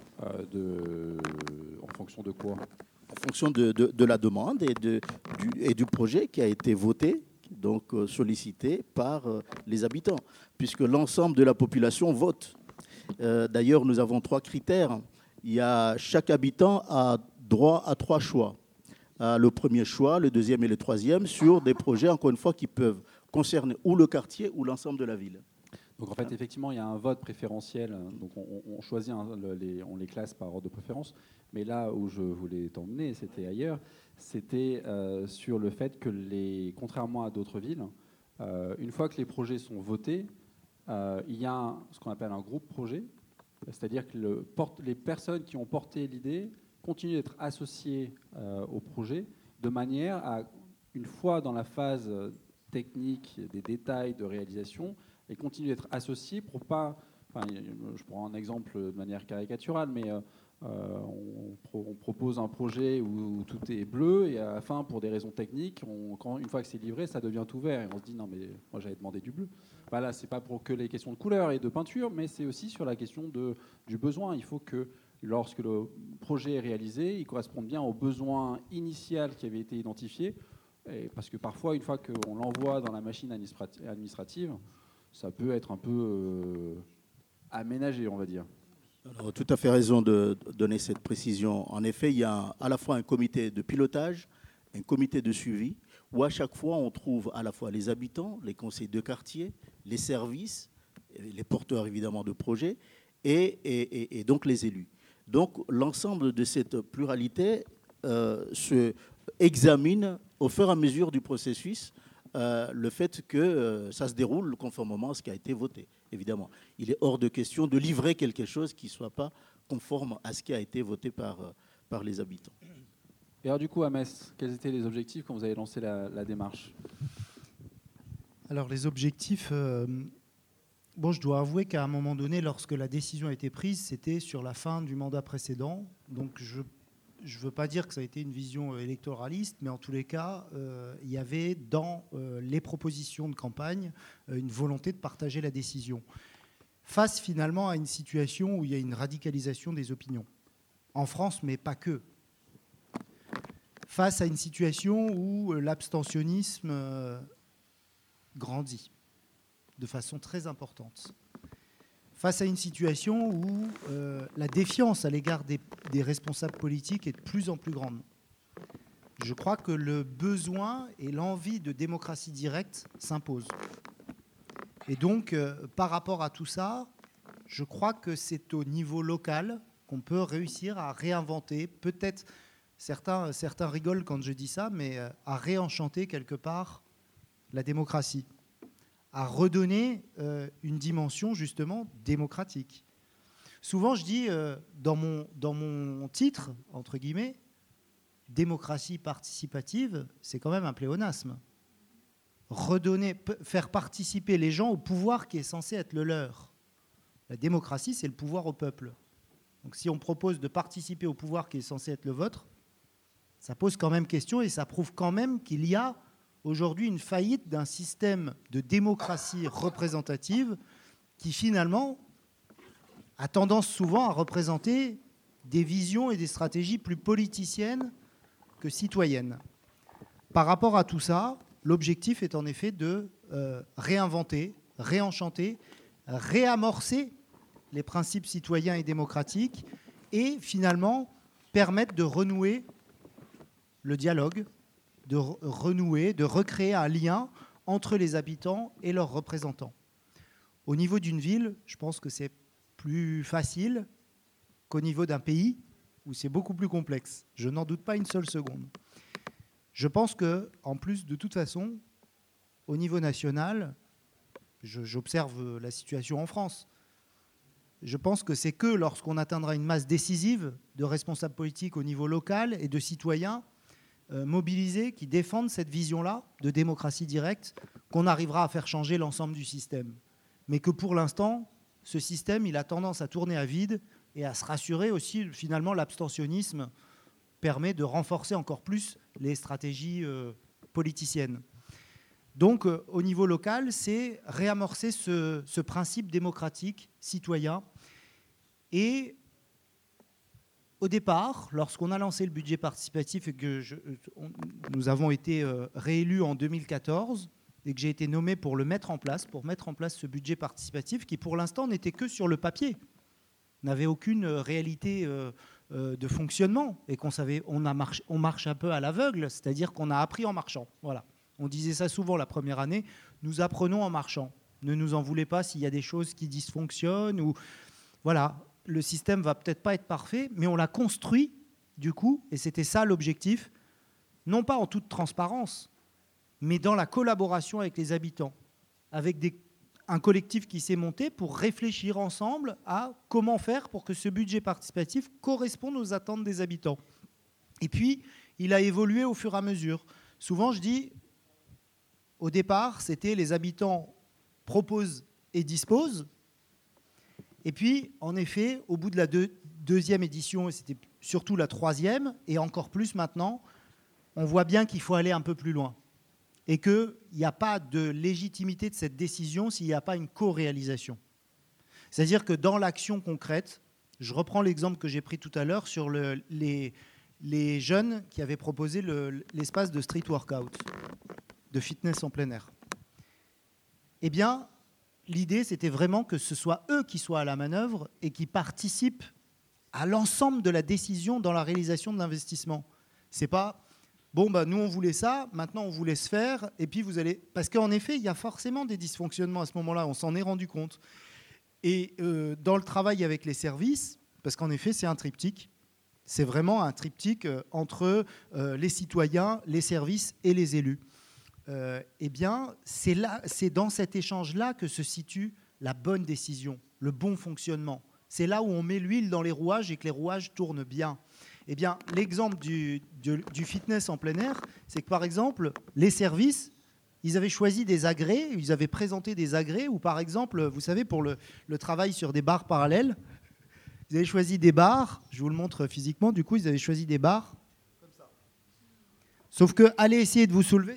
de quoi? En fonction de la demande et du projet qui a été voté, donc sollicité par les habitants, puisque l'ensemble de la population vote. D'ailleurs, nous avons 3 critères. Chaque habitant a droit à 3 choix. Le premier choix, le deuxième et le troisième, sur des projets, encore une fois, qui peuvent concerner ou le quartier ou l'ensemble de la ville. Donc en fait, effectivement, il y a un vote préférentiel. Donc on choisit, on les classe par ordre de préférence. Mais là où je voulais t'emmener, c'était ailleurs. C'était sur le fait que, contrairement à d'autres villes, une fois que les projets sont votés, il y a ce qu'on appelle un groupe projet. C'est-à-dire que les personnes qui ont porté l'idée continuent d'être associées au projet de manière à, une fois dans la phase technique, des détails de réalisation, et continuent d'être associées pour pas... Enfin, je prends un exemple de manière caricaturale, mais on propose un projet où tout est bleu et à la fin, pour des raisons techniques, une fois que c'est livré, ça devient tout vert. Et on se dit, non, mais moi, j'avais demandé du bleu. Là, ce n'est pas pour que les questions de couleur et de peinture, mais c'est aussi sur la question du besoin. Il faut que, lorsque le projet est réalisé, il corresponde bien au besoin initial qui avait été identifié. Parce que parfois, une fois qu'on l'envoie dans la machine administrative, ça peut être un peu aménagé, on va dire. Alors, tout à fait raison de donner cette précision. En effet, il y a à la fois un comité de pilotage, un comité de suivi, où à chaque fois, on trouve à la fois les habitants, les conseils de quartier, les services, les porteurs évidemment de projets, et donc les élus. Donc, l'ensemble de cette pluralité se examine au fur et à mesure du processus, le fait que ça se déroule conformément à ce qui a été voté, évidemment. Il est hors de question de livrer quelque chose qui ne soit pas conforme à ce qui a été voté par les habitants. Et alors du coup, à Metz, quels étaient les objectifs quand vous avez lancé la démarche? Alors les objectifs, je dois avouer qu'à un moment donné, lorsque la décision a été prise, c'était sur la fin du mandat précédent. Donc je ne veux pas dire que ça a été une vision électoraliste, mais en tous les cas, il y avait dans les propositions de campagne une volonté de partager la décision. Face finalement à une situation où il y a une radicalisation des opinions, en France, mais pas que. Face à une situation où l'abstentionnisme grandit de façon très importante. Face à une situation où la défiance à l'égard des responsables politiques est de plus en plus grande. Je crois que le besoin et l'envie de démocratie directe s'imposent. Et donc, par rapport à tout ça, je crois que c'est au niveau local qu'on peut réussir à réinventer peut-être certains rigolent quand je dis ça, mais à réenchanter quelque part la démocratie, à redonner une dimension justement démocratique. Souvent, je dis dans mon titre, entre guillemets, démocratie participative, c'est quand même un pléonasme. Faire participer les gens au pouvoir qui est censé être le leur. La démocratie, c'est le pouvoir au peuple. Donc si on propose de participer au pouvoir qui est censé être le vôtre, ça pose quand même question et ça prouve quand même qu'il y a aujourd'hui une faillite d'un système de démocratie représentative qui finalement a tendance souvent à représenter des visions et des stratégies plus politiciennes que citoyennes. Par rapport à tout ça, l'objectif est en effet de réinventer, réenchanter, réamorcer les principes citoyens et démocratiques et finalement permettre de renouer le dialogue, de renouer, de recréer un lien entre les habitants et leurs représentants. Au niveau d'une ville, je pense que c'est plus facile qu'au niveau d'un pays où c'est beaucoup plus complexe. Je n'en doute pas une seule seconde. Je pense qu'en plus, de toute façon, au niveau national, j'observe la situation en France. Je pense que c'est que lorsqu'on atteindra une masse décisive de responsables politiques au niveau local et de citoyens mobilisés qui défendent cette vision-là de démocratie directe qu'on arrivera à faire changer l'ensemble du système. Mais que pour l'instant, ce système, il a tendance à tourner à vide et à se rassurer aussi. Finalement, l'abstentionnisme permet de renforcer encore plus les stratégies politiciennes. Donc, au niveau local, c'est réamorcer ce principe démocratique, citoyen. Et au départ, lorsqu'on a lancé le budget participatif et que nous avons été réélus en 2014 et que j'ai été nommé pour mettre en place ce budget participatif qui, pour l'instant, n'était que sur le papier, n'avait aucune réalité de fonctionnement et on marche un peu à l'aveugle, c'est-à-dire qu'on a appris en marchant. Voilà. On disait ça souvent la première année, nous apprenons en marchant. Ne nous en voulez pas s'il y a des choses qui dysfonctionnent ou voilà. Le système va peut-être pas être parfait, mais on l'a construit du coup, et c'était ça l'objectif, non pas en toute transparence, mais dans la collaboration avec les habitants, avec un collectif qui s'est monté pour réfléchir ensemble à comment faire pour que ce budget participatif corresponde aux attentes des habitants. Et puis, il a évolué au fur et à mesure. Souvent, je dis, au départ, c'était les habitants proposent et disposent. Et puis, en effet, au bout de la deuxième édition, et c'était surtout la troisième, et encore plus maintenant, on voit bien qu'il faut aller un peu plus loin. Et qu'il n'y a pas de légitimité de cette décision s'il n'y a pas une co-réalisation. C'est-à-dire que dans l'action concrète, je reprends l'exemple que j'ai pris tout à l'heure sur les jeunes qui avaient proposé l'espace de street workout, de fitness en plein air. Eh bien, l'idée, c'était vraiment que ce soit eux qui soient à la manœuvre et qui participent à l'ensemble de la décision dans la réalisation de l'investissement. C'est pas, bon, nous, on voulait ça, maintenant, on vous laisse faire, et puis vous allez... Parce qu'en effet, il y a forcément des dysfonctionnements à ce moment-là, on s'en est rendu compte. Et dans le travail avec les services, parce qu'en effet, c'est un triptyque, c'est vraiment un triptyque entre les citoyens, les services et les élus. Eh bien, c'est dans cet échange-là que se situe la bonne décision, le bon fonctionnement. C'est là où on met l'huile dans les rouages et que les rouages tournent bien. Eh bien, l'exemple du fitness en plein air, c'est que, par exemple, les services, ils avaient choisi des agrès, ils avaient présenté des agrès, ou par exemple, vous savez, pour le travail sur des barres parallèles, ils avaient choisi des barres, je vous le montre physiquement, du coup, ils avaient choisi des barres comme ça. Sauf que, allez essayer de vous soulever...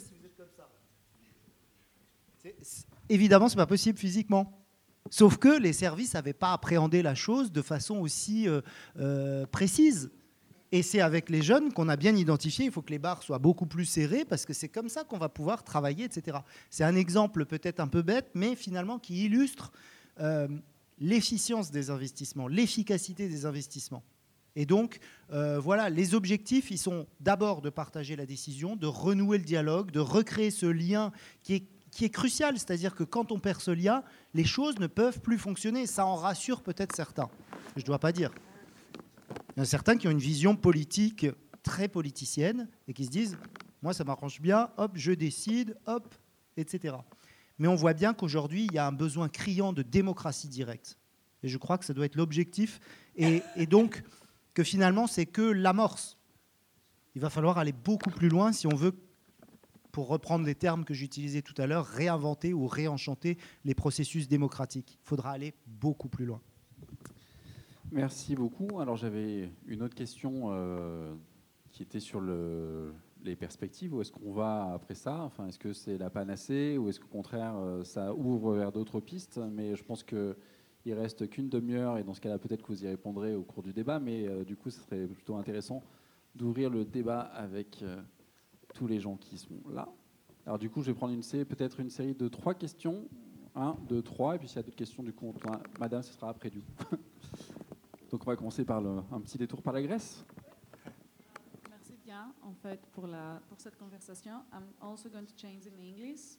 Évidemment, ce n'est pas possible physiquement. Sauf que les services n'avaient pas appréhendé la chose de façon aussi précise. Et c'est avec les jeunes qu'on a bien identifié, il faut que les barres soient beaucoup plus serrées parce que c'est comme ça qu'on va pouvoir travailler, etc. C'est un exemple peut-être un peu bête, mais finalement qui illustre l'efficience des investissements, l'efficacité des investissements. Et donc, voilà, les objectifs, ils sont d'abord de partager la décision, de renouer le dialogue, de recréer ce lien qui est crucial. C'est-à-dire que quand on perd ce lien, les choses ne peuvent plus fonctionner. Ça en rassure peut-être certains. Je ne dois pas dire. Il y en a certains qui ont une vision politique très politiciennes et qui se disent « moi, ça m'arrange bien, hop, je décide, hop, etc. » Mais on voit bien qu'aujourd'hui, il y a un besoin criant de démocratie directe. Et je crois que ça doit être l'objectif. Et donc, que finalement, c'est que l'amorce. Il va falloir aller beaucoup plus loin si on veut, pour reprendre les termes que j'utilisais tout à l'heure, réinventer ou réenchanter les processus démocratiques. Il faudra aller beaucoup plus loin. Merci beaucoup. Alors j'avais une autre question qui était sur les perspectives. Où est-ce qu'on va après ça? Enfin, est-ce que c'est la panacée ou est-ce qu'au contraire ça ouvre vers d'autres pistes? Mais je pense qu'il ne reste qu'une demi-heure et dans ce cas-là peut-être que vous y répondrez au cours du débat. Mais du coup, ce serait plutôt intéressant d'ouvrir le débat avec tous les gens qui sont là. Alors du coup, je vais prendre peut-être une série de 3 questions. 1, 2, 3. Et puis s'il y a d'autres questions, du coup, madame, ce sera après du coup. Donc on va commencer par un petit détour par la Grèce. Merci bien, en fait, pour cette conversation. I'm also going to change in English.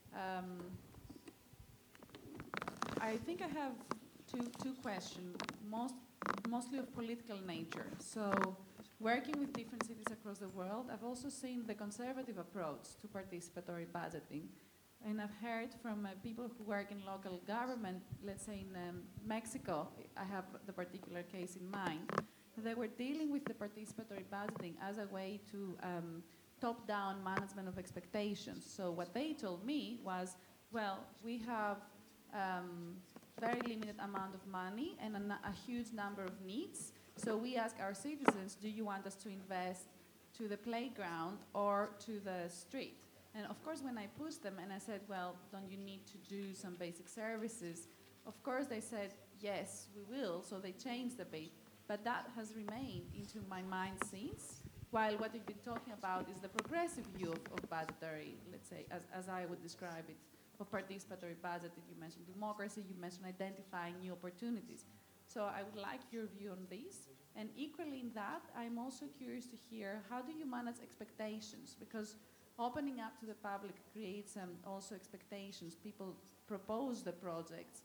I think I have two questions, mostly of political nature. So, working with different cities across the world, I've also seen the conservative approach to participatory budgeting. And I've heard from people who work in local government, let's say in Mexico, I have the particular case in mind, they were dealing with the participatory budgeting as a way to top-down management of expectations. So what they told me was, well, we have very limited amount of money and a huge number of needs. So we ask our citizens, do you want us to invest to the playground or to the street? And of course, when I pushed them and I said, well, don't you need to do some basic services? Of course, they said, yes, we will. So they changed a bit. But that has remained into my mind since, while what we've been talking about is the progressive view of budgetary, let's say, as I would describe it, of participatory budgeting. You mentioned democracy, you mentioned identifying new opportunities. So I would like your view on this. And equally in that, I'm also curious to hear, how do you manage expectations? Because opening up to the public creates also expectations. People propose the projects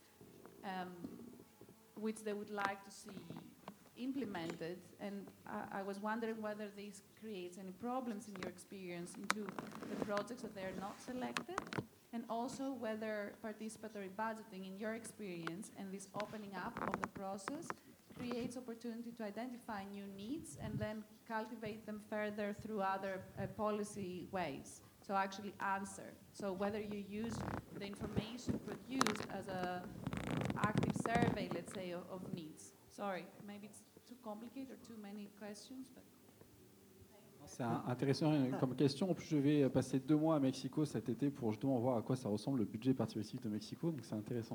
which they would like to see implemented, and I was wondering whether this creates any problems in your experience into the projects that they are not selected, and also whether participatory budgeting in your experience and this opening up of the process creates opportunity to identify new needs and then cultivate them further through other policy ways. So actually answer. So whether you use the information produced as an active survey, let's say, of needs. Sorry, maybe it's too complicated or too many questions, but... C'est intéressant comme question. En plus, je vais passer 2 mois à Mexico cet été pour justement voir à quoi ça ressemble le budget participatif de Mexico. Donc c'est intéressant.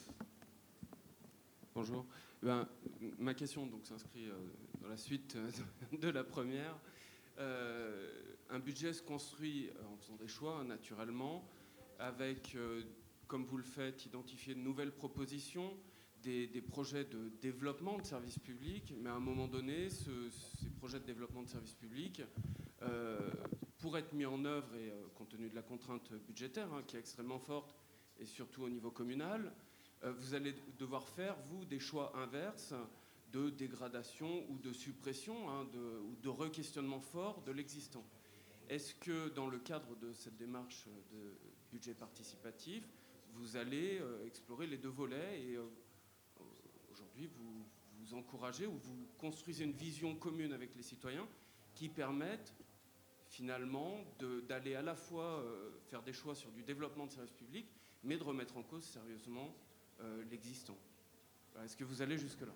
Bonjour. Ma question s'inscrit dans la suite de la première. Un budget se construit en faisant des choix, naturellement, avec, comme vous le faites, identifier de nouvelles propositions, des projets de développement de services publics, mais à un moment donné, ces projets de développement de services publics, pour être mis en œuvre, et compte tenu de la contrainte budgétaire, qui est extrêmement forte, et surtout au niveau communal, vous allez devoir faire, vous, des choix inverses de dégradation ou de suppression, ou de re-questionnement fort de l'existant. Est-ce que, dans le cadre de cette démarche de budget participatif, vous allez explorer les 2 volets et aujourd'hui vous encouragez ou vous construisez une vision commune avec les citoyens qui permettent finalement d'aller à la fois faire des choix sur du développement de services publics, mais de remettre en cause sérieusement l'existant. Est-ce que vous allez jusque-là?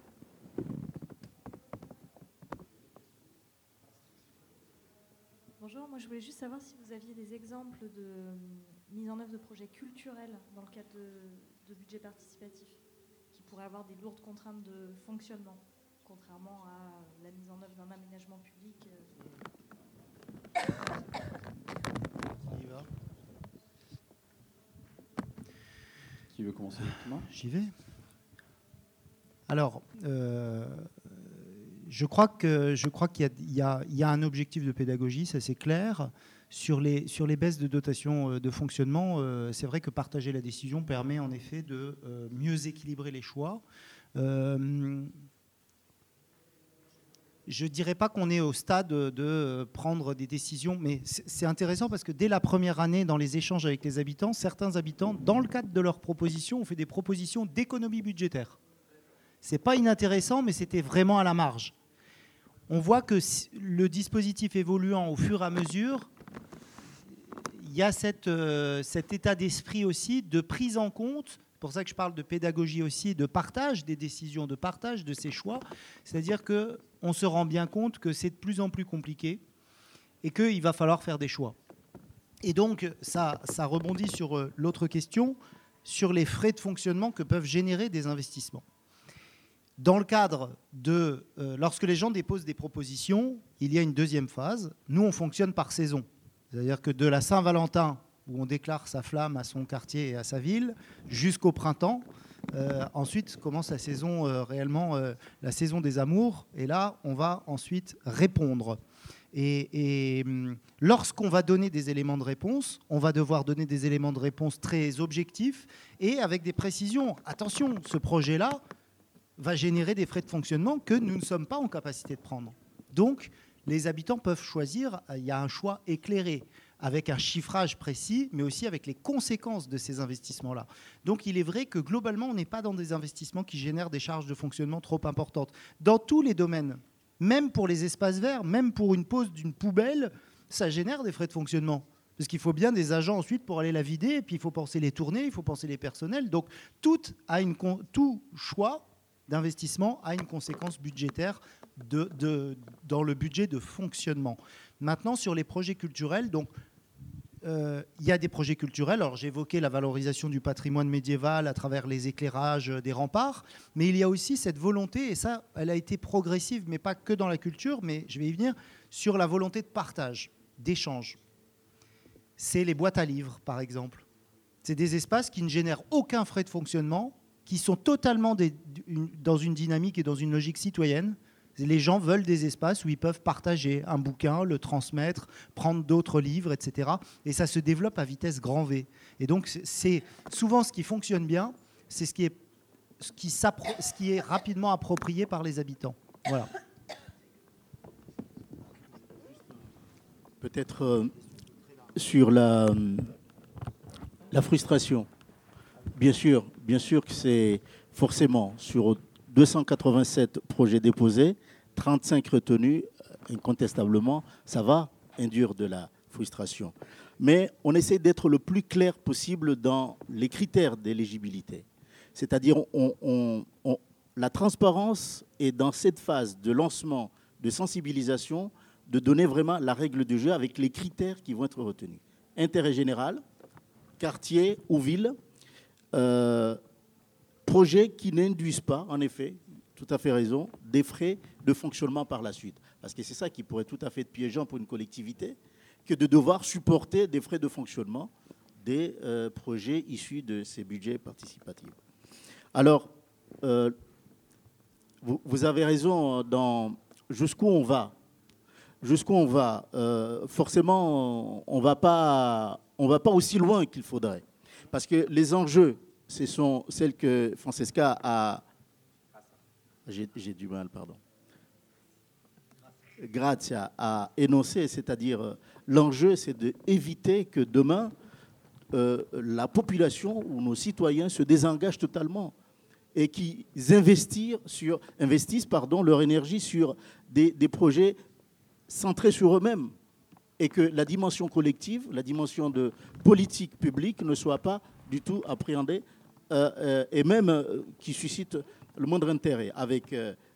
Bonjour, moi je voulais juste savoir si vous aviez des exemples de mise en œuvre de projets culturels dans le cadre de budget participatif qui pourraient avoir des lourdes contraintes de fonctionnement, contrairement à la mise en œuvre d'un aménagement public. Qui veut commencer? J'y vais. Alors, je crois qu'il y a un objectif de pédagogie, ça c'est clair. Sur les baisses de dotation de fonctionnement, c'est vrai que partager la décision permet en effet de mieux équilibrer les choix. je ne dirais pas qu'on est au stade de prendre des décisions, mais c'est intéressant parce que dès la première année, dans les échanges avec les habitants, certains habitants, dans le cadre de leurs propositions, ont fait des propositions d'économie budgétaire. Ce n'est pas inintéressant, mais c'était vraiment à la marge. On voit que le dispositif évoluant au fur et à mesure, il y a cet état d'esprit aussi de prise en compte. C'est pour ça que je parle de pédagogie aussi, de partage des décisions, de partage de ces choix. C'est-à-dire qu'on se rend bien compte que c'est de plus en plus compliqué et qu'il va falloir faire des choix. Et donc, ça rebondit sur l'autre question, sur les frais de fonctionnement que peuvent générer des investissements. Dans le cadre de... lorsque les gens déposent des propositions, il y a une deuxième phase. Nous, on fonctionne par saison. C'est-à-dire que de la Saint-Valentin, où on déclare sa flamme à son quartier et à sa ville, jusqu'au printemps. Ensuite commence la saison réellement, la saison des amours. Et là, on va ensuite répondre. Et lorsqu'on va donner des éléments de réponse, on va devoir donner des éléments de réponse très objectifs et avec des précisions. Attention, ce projet-là va générer des frais de fonctionnement que nous ne sommes pas en capacité de prendre. Donc, les habitants peuvent choisir, il y a un choix éclairé, avec un chiffrage précis, mais aussi avec les conséquences de ces investissements-là. Donc il est vrai que globalement, on n'est pas dans des investissements qui génèrent des charges de fonctionnement trop importantes. Dans tous les domaines, même pour les espaces verts, même pour une pose d'une poubelle, ça génère des frais de fonctionnement. Parce qu'il faut bien des agents ensuite pour aller la vider, et puis il faut penser les tournées, il faut penser les personnels. Donc tout choix d'investissement a une conséquence budgétaire dans le budget de fonctionnement. Maintenant, sur les projets culturels, donc, il y a des projets culturels. Alors, j'évoquais la valorisation du patrimoine médiéval à travers les éclairages des remparts, mais il y a aussi cette volonté, et ça, elle a été progressive, mais pas que dans la culture, mais je vais y venir, sur la volonté de partage, d'échange. C'est les boîtes à livres, par exemple. C'est des espaces qui ne génèrent aucun frais de fonctionnement, qui sont totalement dans une dynamique et dans une logique citoyenne. Les gens veulent des espaces où ils peuvent partager un bouquin, le transmettre, prendre d'autres livres, etc. Et ça se développe à vitesse grand V. Et donc, c'est souvent ce qui fonctionne bien, c'est ce qui est rapidement approprié par les habitants. Voilà. Peut-être sur la frustration. Bien sûr que c'est forcément sur 287 projets déposés, 35 retenus, incontestablement, ça va induire de la frustration. Mais on essaie d'être le plus clair possible dans les critères d'éligibilité. C'est-à-dire, la transparence est dans cette phase de lancement, de sensibilisation, de donner vraiment la règle du jeu avec les critères qui vont être retenus. Intérêt général, quartier ou ville, projets qui n'induisent pas, en effet, tout à fait raison, des frais de fonctionnement par la suite. Parce que c'est ça qui pourrait tout à fait être piégeant pour une collectivité, que de devoir supporter des frais de fonctionnement des projets issus de ces budgets participatifs. Alors, vous avez raison dans jusqu'où on va. Forcément, on va pas aussi loin qu'il faudrait. Parce que les enjeux, ce sont celles que Francesca a... J'ai du mal, pardon. Grazia a énoncé, c'est-à-dire l'enjeu, c'est d'éviter que demain, la population ou nos citoyens se désengagent totalement et qu'ils investissent leur énergie sur des projets centrés sur eux-mêmes et que la dimension collective, la dimension de politique publique ne soit pas du tout appréhendée et même qui suscite le moindre intérêt avec,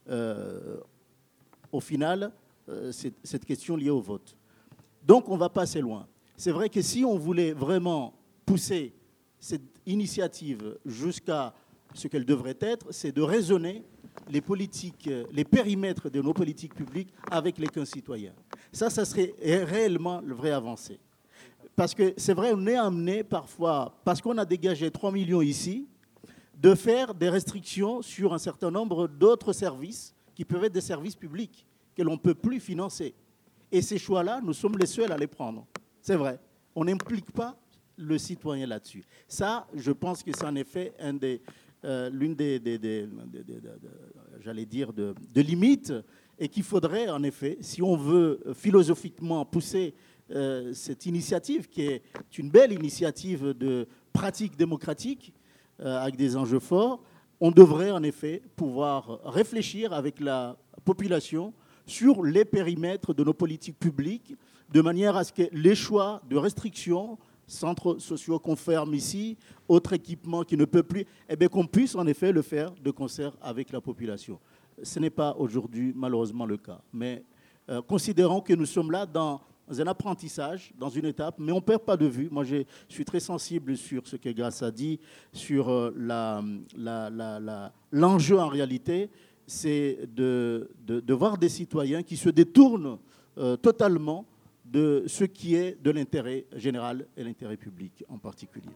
au final, cette question liée au vote. Donc, on va pas assez loin. C'est vrai que si on voulait vraiment pousser cette initiative jusqu'à ce qu'elle devrait être, c'est de raisonner les politiques, les périmètres de nos politiques publiques avec les concitoyens. Ça serait réellement le vrai avancé. Parce que c'est vrai, on est amené parfois, parce qu'on a dégagé 3 millions ici, de faire des restrictions sur un certain nombre d'autres services qui peuvent être des services publics que l'on ne peut plus financer. Et ces choix-là, nous sommes les seuls à les prendre. C'est vrai. On n'implique pas le citoyen là-dessus. Ça, je pense que c'est en effet l'une des j'allais dire, de limites et qu'il faudrait, en effet, si on veut philosophiquement pousser cette initiative, qui est une belle initiative de pratique démocratique, avec des enjeux forts, on devrait en effet pouvoir réfléchir avec la population sur les périmètres de nos politiques publiques, de manière à ce que les choix de restriction, centres sociaux qu'on ferme ici, autres équipements qui ne peuvent plus, eh bien qu'on puisse en effet le faire de concert avec la population. Ce n'est pas aujourd'hui malheureusement le cas, mais considérons que nous sommes là dans un apprentissage, dans une étape, mais on ne perd pas de vue. Moi, je suis très sensible sur ce que Grace a dit, sur l'enjeu en réalité, c'est de voir des citoyens qui se détournent totalement de ce qui est de l'intérêt général et l'intérêt public en particulier.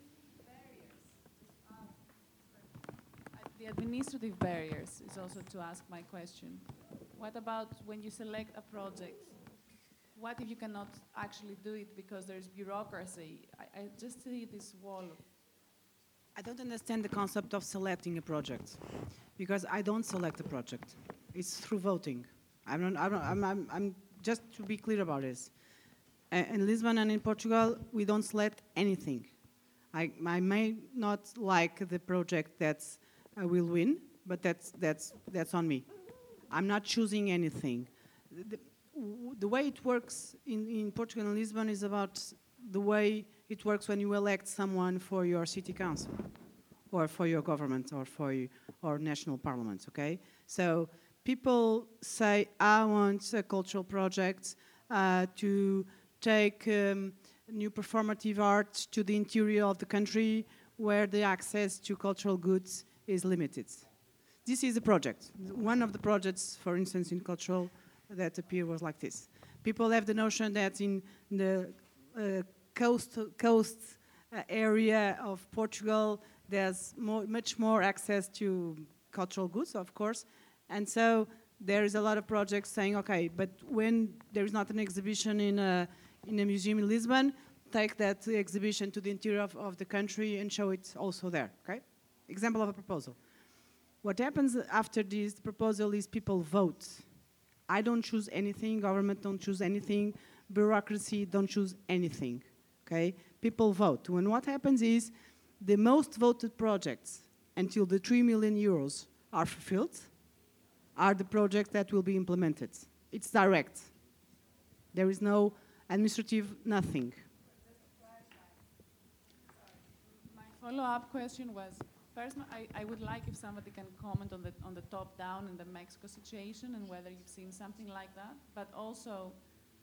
The administrative barriers is also to ask my question. What about when you select a project? What if you cannot actually do it because there's bureaucracy? I just see this wall. I don't understand the concept of selecting a project, because I don't select a project. It's through voting. I'm just to be clear about this. In Lisbon and in Portugal, we don't select anything. I may not like the project that will win, but that's on me. I'm not choosing anything. The way it works in Portugal and Lisbon is about the way it works when you elect someone for your city council or for your government or for or national parliament, okay? So people say, I want a cultural project to take new performative art to the interior of the country where the access to cultural goods is limited. This is a project. One of the projects, for instance, in cultural that appear was like this. People have the notion that in the coast area of Portugal, there's much more access to cultural goods, of course, and so there is a lot of projects saying, okay, but when there is not an exhibition in a museum in Lisbon, take that exhibition to the interior of the country and show it also there, okay? Example of a proposal. What happens after this proposal is people vote. I don't choose anything, government don't choose anything, bureaucracy don't choose anything, okay? People vote. And what happens is the most voted projects until the 3 million euros are fulfilled are the projects that will be implemented. It's direct. There is no administrative, nothing. My follow-up question was, first, I would like if somebody can comment on the top-down in the Mexico situation and whether you've seen something like that. But also,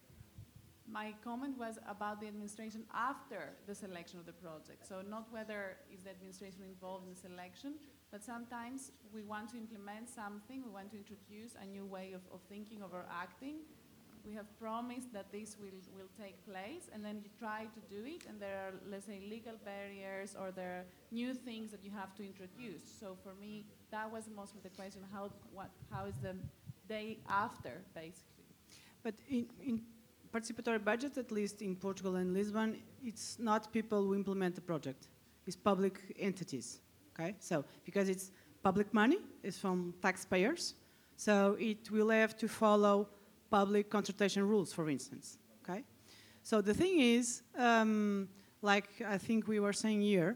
my comment was about the administration after the selection of the project. So not whether is the administration involved in the selection, but sometimes we want to implement something, we want to introduce a new way of thinking, of our acting. We have promised that this will take place, and then you try to do it, and there are, let's say, legal barriers, or there are new things that you have to introduce. So for me, that was mostly the question, how is the day after, basically? But in participatory budget, at least in Portugal and Lisbon, it's not people who implement the project. It's public entities, okay? So, because it's public money, it's from taxpayers, so it will have to follow public consultation rules, for instance, okay? So the thing is, like I think we were saying here,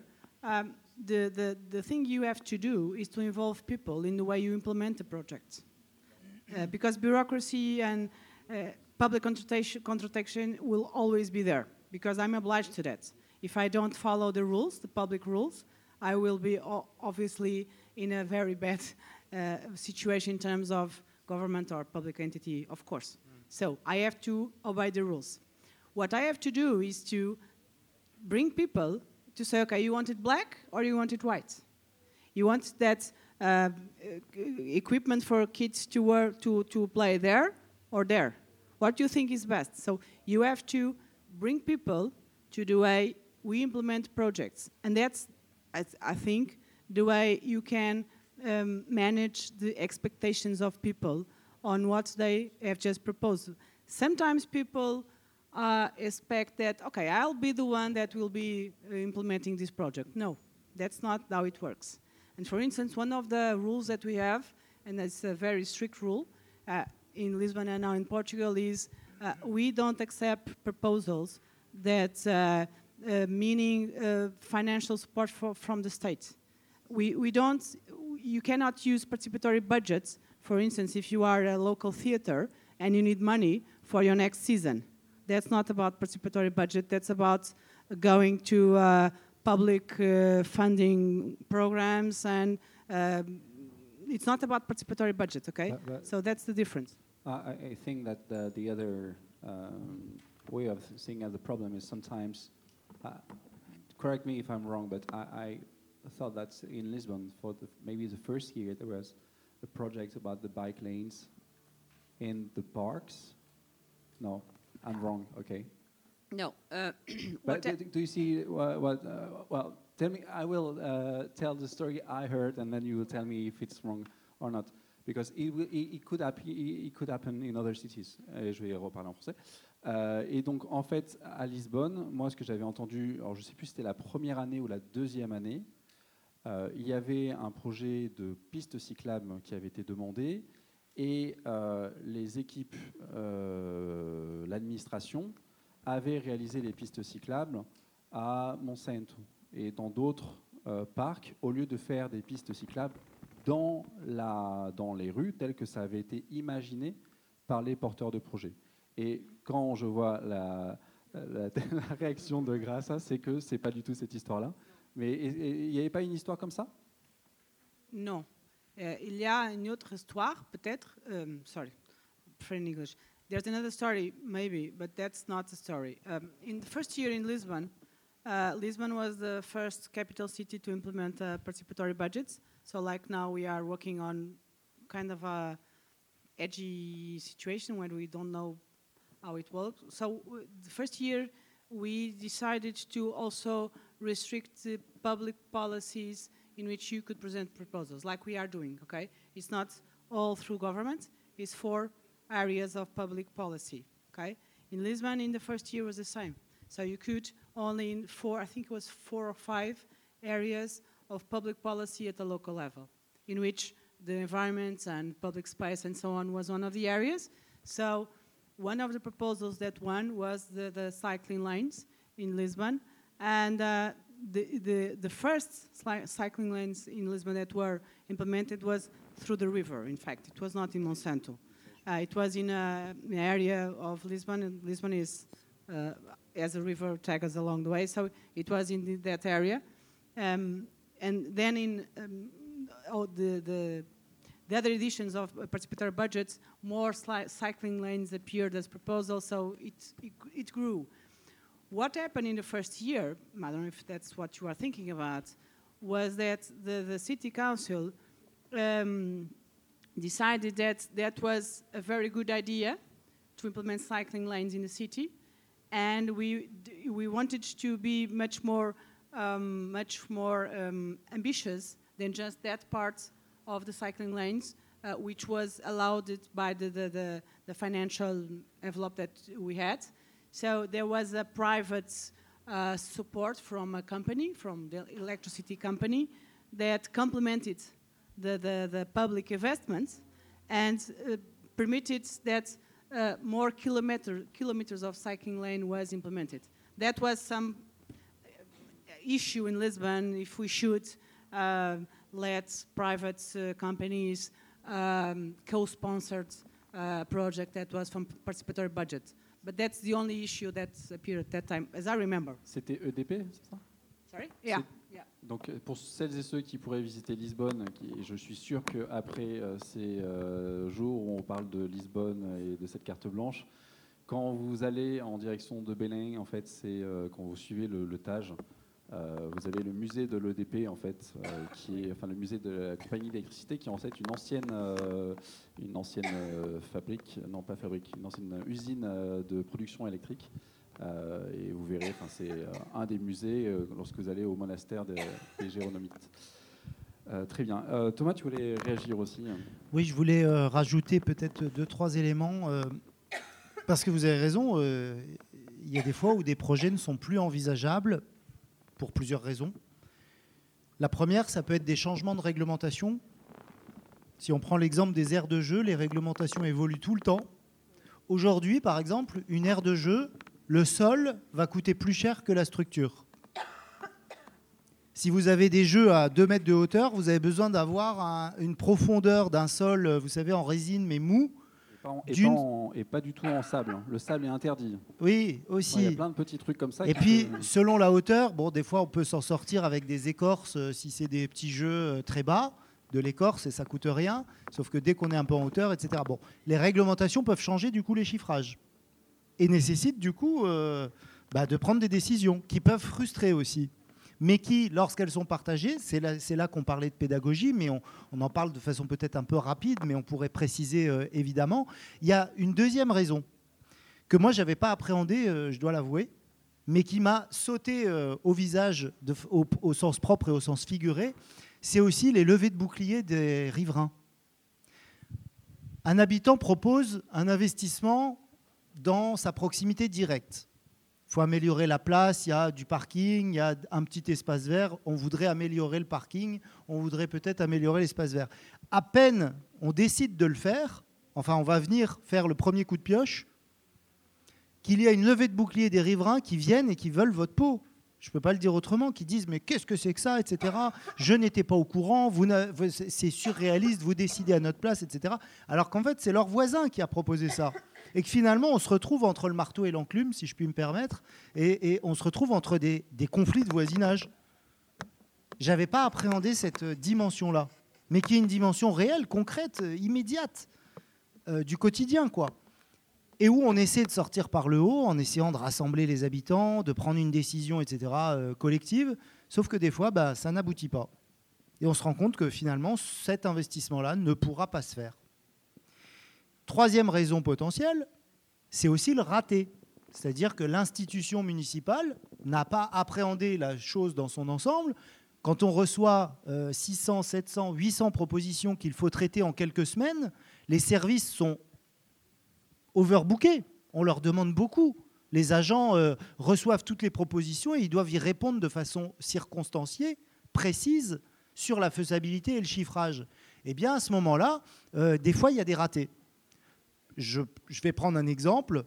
the thing you have to do is to involve people in the way you implement the project. Because bureaucracy and public consultation will always be there, because I'm obliged to that. If I don't follow the rules, the public rules, I will be obviously in a very bad situation in terms of government or public entity, of course. So I have to obey the rules. What I have to do is to bring people to say, okay, you want it black or you want it white? You want that equipment for kids to wear to play there or there? What do you think is best? So you have to bring people to the way we implement projects. And that's, I think, the way you can manage the expectations of people on what they have just proposed. Sometimes people expect that, okay, I'll be the one that will be implementing this project. No, that's not how it works. And for instance, one of the rules that we have, and it's a very strict rule, in Lisbon and now in Portugal is we don't accept proposals that meaning financial support from the state. We don't, you cannot use participatory budgets, for instance, if you are a local theater and you need money for your next season. That's not about participatory budget, that's about going to public funding programs, and it's not about participatory budget, okay? So that's the difference. I think that the other way of seeing the problem is sometimes, correct me if I'm wrong, but I thought that in Lisbon, for maybe the first year, there was a project about the bike lanes in the parks. No, I'm wrong, okay. No. But do you see what well, tell me, I will tell the story I heard, and then you will tell me if it's wrong or not. Because it could happen in other cities. Et je vais reparler en français. Et donc, en fait, à Lisbonne, moi, ce que j'avais entendu, alors je ne sais plus si c'était la première année ou la deuxième année, il y avait un projet de piste cyclable qui avait été demandé, et les équipes, l'administration, avaient réalisé les pistes cyclables à Monsanto et dans d'autres parcs, au lieu de faire des pistes cyclables dans les rues, telles que ça avait été imaginé par les porteurs de projets. Et quand je vois la réaction de Graça, c'est que ce n'est pas du tout cette histoire-là. Mais il n'y avait pas une histoire comme ça? Non. Il y a une autre histoire, peut-être. Sorry, in English. There's another story, maybe, but that's not the story. In the first year in Lisbon, Lisbon was the first capital city to implement participatory budgets. So like now we are working on kind of a edgy situation where we don't know how it works. So the first year we decided to also restrict the public policies in which you could present proposals, like we are doing, okay? It's not all through government, it's 4 areas of public policy, okay? In Lisbon, in the first year was the same. So you could only in 4, I think it was 4 or 5 areas of public policy at the local level, in which the environment and public space and so on was one of the areas. So one of the proposals that won was the cycling lanes in Lisbon, and the first cycling lanes in Lisbon that were implemented was through the river. In fact, it was not in Monsanto. It was in an area of Lisbon, and Lisbon is as a river tags along the way, so it was in that area. And then in the other editions of participatory budgets, more cycling lanes appeared as proposals, so it grew. What happened in the first year, I don't know if that's what you are thinking about, was that the city council decided that that was a very good idea to implement cycling lanes in the city, and we wanted to be much more ambitious than just that part of the cycling lanes, which was allowed by the financial envelope that we had. So there was a private support from a company, from the electricity company, that complemented the public investments and permitted that more kilometers of cycling lane was implemented. That was some issue in Lisbon, if we should let private companies co-sponsored project that was from participatory budget. But that's the only issue that appeared at that time, as I remember. C'était EDP, c'est ça? Sorry? Yeah. Donc pour celles et ceux qui pourraient visiter Lisbonne, je suis sûr qu'après ces jours où on parle de Lisbonne et de cette carte blanche, quand vous allez en direction de Belém, en fait, c'est quand vous suivez le Tage, vous avez le musée de l'EDP, en fait, qui est, enfin le musée de la compagnie d'électricité, qui est en fait une ancienne fabrique, non pas fabrique, une ancienne usine de production électrique. Et vous verrez, c'est un des musées lorsque vous allez au monastère des Géronomites. Très bien. Thomas, tu voulais réagir aussi? Oui, je voulais rajouter peut-être 2-3 éléments, parce que vous avez raison, il y a des fois où des projets ne sont plus envisageables pour plusieurs raisons. La première, ça peut être des changements de réglementation. Si on prend l'exemple des aires de jeu, les réglementations évoluent tout le temps. Aujourd'hui, par exemple, une aire de jeu, le sol va coûter plus cher que la structure. Si vous avez des jeux à 2 mètres de hauteur, vous avez besoin d'avoir une profondeur d'un sol, vous savez, en résine mais mou. Et pas du tout en sable. Le sable est interdit. Oui, aussi. Il y a plein de petits trucs comme ça. Et puis, selon la hauteur, bon, des fois, on peut s'en sortir avec des écorces si c'est des petits jeux très bas, de l'écorce, et ça coûte rien. Sauf que dès qu'on est un peu en hauteur, etc. Bon, les réglementations peuvent changer, du coup, les chiffrages. Et nécessitent, du coup, de prendre des décisions qui peuvent frustrer aussi. Mais qui, lorsqu'elles sont partagées, c'est là qu'on parlait de pédagogie, mais on en parle de façon peut-être un peu rapide, mais on pourrait préciser évidemment. Il y a une deuxième raison que moi, je n'avais pas appréhendée, je dois l'avouer, mais qui m'a sauté au visage au sens propre et au sens figuré, c'est aussi les levées de boucliers des riverains. Un habitant propose un investissement dans sa proximité directe. Il faut améliorer la place, il y a du parking, il y a un petit espace vert. On voudrait améliorer le parking, on voudrait peut-être améliorer l'espace vert. À peine on décide de le faire, enfin on va venir faire le premier coup de pioche, qu'il y a une levée de bouclier des riverains qui viennent et qui veulent votre peau. Je ne peux pas le dire autrement, qui disent « mais qu'est-ce que c'est que ça ?» etc. « Je n'étais pas au courant, c'est surréaliste, vous décidez à notre place, etc. » Alors qu'en fait, c'est leur voisin qui a proposé ça. Et que finalement, on se retrouve entre le marteau et l'enclume, si je puis me permettre, et on se retrouve entre des conflits de voisinage. Je n'avais pas appréhendé cette dimension-là, mais qui est une dimension réelle, concrète, immédiate, du quotidien, quoi. Et où on essaie de sortir par le haut, en essayant de rassembler les habitants, de prendre une décision, etc., collective, sauf que des fois, ça n'aboutit pas. Et on se rend compte que finalement, cet investissement-là ne pourra pas se faire. Troisième raison potentielle, c'est aussi le raté. C'est-à-dire que l'institution municipale n'a pas appréhendé la chose dans son ensemble. Quand on reçoit 600, 700, 800 propositions qu'il faut traiter en quelques semaines, les services sont overbookés. On leur demande beaucoup. Les agents reçoivent toutes les propositions et ils doivent y répondre de façon circonstanciée, précise, sur la faisabilité et le chiffrage. Eh bien, à ce moment-là, des fois, il y a des ratés. Je vais prendre un exemple.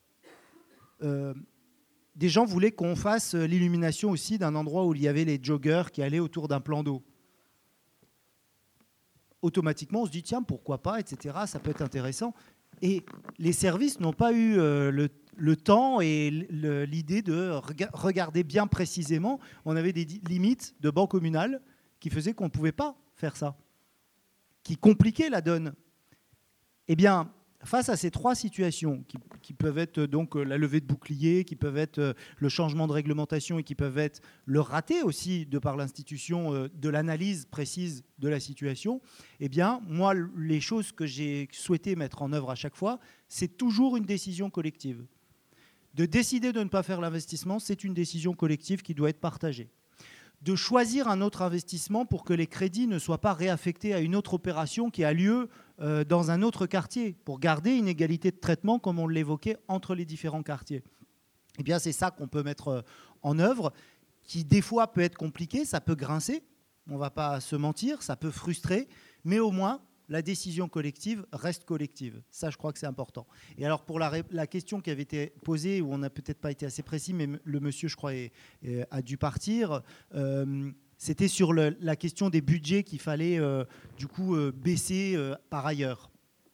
Des gens voulaient qu'on fasse l'illumination aussi d'un endroit où il y avait les joggers qui allaient autour d'un plan d'eau. Automatiquement, on se dit, tiens, pourquoi pas, etc. Ça peut être intéressant. Et les services n'ont pas eu le temps et l'idée de regarder bien précisément. On avait des limites de banc communal qui faisaient qu'on ne pouvait pas faire ça, qui compliquaient la donne. Eh bien, face à ces trois situations, qui peuvent être donc la levée de bouclier, qui peuvent être le changement de réglementation et qui peuvent être le raté aussi de par l'institution de l'analyse précise de la situation, eh bien, moi, les choses que j'ai souhaité mettre en œuvre à chaque fois, c'est toujours une décision collective. De décider de ne pas faire l'investissement, c'est une décision collective qui doit être partagée. De choisir un autre investissement pour que les crédits ne soient pas réaffectés à une autre opération qui a lieu dans un autre quartier, pour garder une égalité de traitement, comme on l'évoquait, entre les différents quartiers. Eh bien, c'est ça qu'on peut mettre en œuvre, qui des fois peut être compliqué, ça peut grincer, on ne va pas se mentir, ça peut frustrer, mais au moins, la décision collective reste collective. Ça, je crois que c'est important. Et alors, pour la question qui avait été posée, où on n'a peut-être pas été assez précis, mais le monsieur, je crois, a dû partir, c'était sur la question des budgets qu'il fallait, du coup, baisser par ailleurs.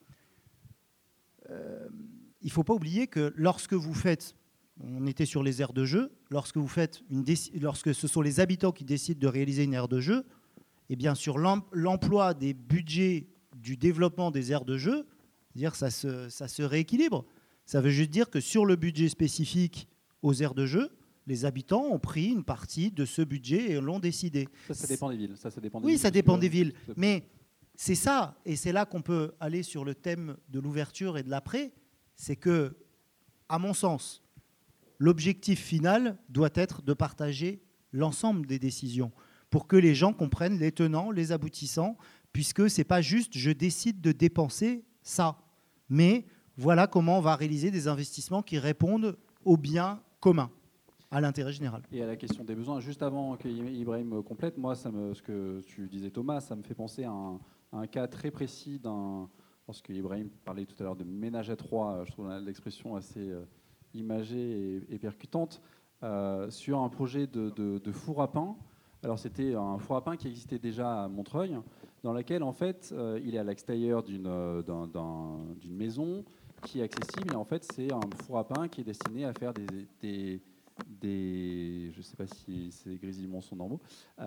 Il ne faut pas oublier que lorsque vous faites, on était sur les aires de jeu, lorsque ce sont les habitants qui décident de réaliser une aire de jeu, eh bien, sur l'emploi des budgets du développement des aires de jeu, c'est-à-dire ça se rééquilibre. Ça veut juste dire que sur le budget spécifique aux aires de jeu, les habitants ont pris une partie de ce budget et l'ont décidé. Ça dépend des villes. Oui, ça dépend des villes. Mais c'est ça, et c'est là qu'on peut aller sur le thème de l'ouverture et de l'après, c'est que, à mon sens, l'objectif final doit être de partager l'ensemble des décisions pour que les gens comprennent les tenants, les aboutissants, puisque ce n'est pas juste « je décide de dépenser ça », mais voilà comment on va réaliser des investissements qui répondent au bien commun. à l'intérêt général. Et à la question des besoins, juste avant qu'Ibrahim complète, moi, ce que tu disais Thomas, ça me fait penser à un cas très précis lorsque Ibrahim parlait tout à l'heure de ménage à trois, je trouve l'expression assez imagée et percutante, sur un projet de four à pain. Alors c'était un four à pain qui existait déjà à Montreuil, dans lequel en fait il est à l'extérieur d'une maison qui est accessible, et en fait c'est un four à pain qui est destiné à faire des je ne sais pas si ces grésillements sont normaux,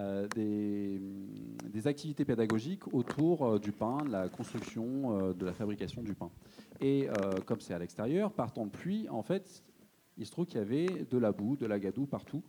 des activités pédagogiques autour du pain, de la construction, de la fabrication du pain. Et comme c'est à l'extérieur, par temps de pluie, en fait, il se trouve qu'il y avait de la boue, de la gadoue partout,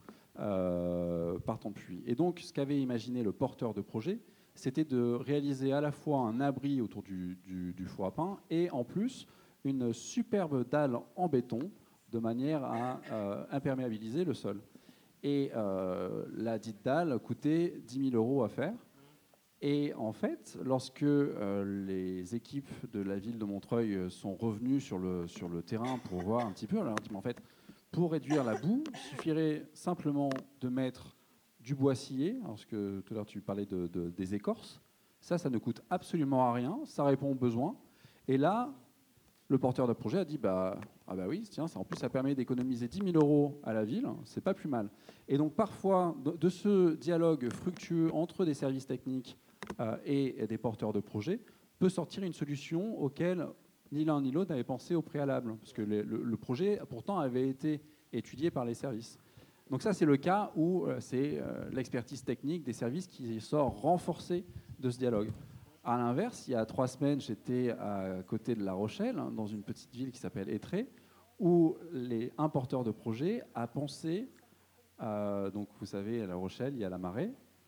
par temps de pluie. Et donc, ce qu'avait imaginé le porteur de projet, c'était de réaliser à la fois un abri autour du four à pain et en plus une superbe dalle en béton de manière à imperméabiliser le sol. Et la dite dalle coûtait 10 000 € à faire. Et en fait, lorsque les équipes de la ville de Montreuil sont revenues sur le terrain pour voir un petit peu, alors, en fait, pour réduire la boue, il suffirait simplement de mettre du bois scié, parce que tout à l'heure tu parlais des écorces. Ça ne coûte absolument à rien, ça répond aux besoins. Et là, le porteur de projet a dit ah bah oui, tiens, en plus ça permet d'économiser 10 000 € à la ville, c'est pas plus mal. Et donc parfois, de ce dialogue fructueux entre des services techniques et des porteurs de projet, peut sortir une solution auquel ni l'un ni l'autre n'avait pensé au préalable, parce que le projet pourtant avait été étudié par les services. Donc ça, c'est le cas où c'est l'expertise technique des services qui sort renforcée de ce dialogue. À l'inverse, il y a 3 semaines, j'étais à côté de La Rochelle, dans une petite ville qui s'appelle Étré, où un porteur de projet a pensé, donc vous savez, à La Rochelle, il y a la Marée,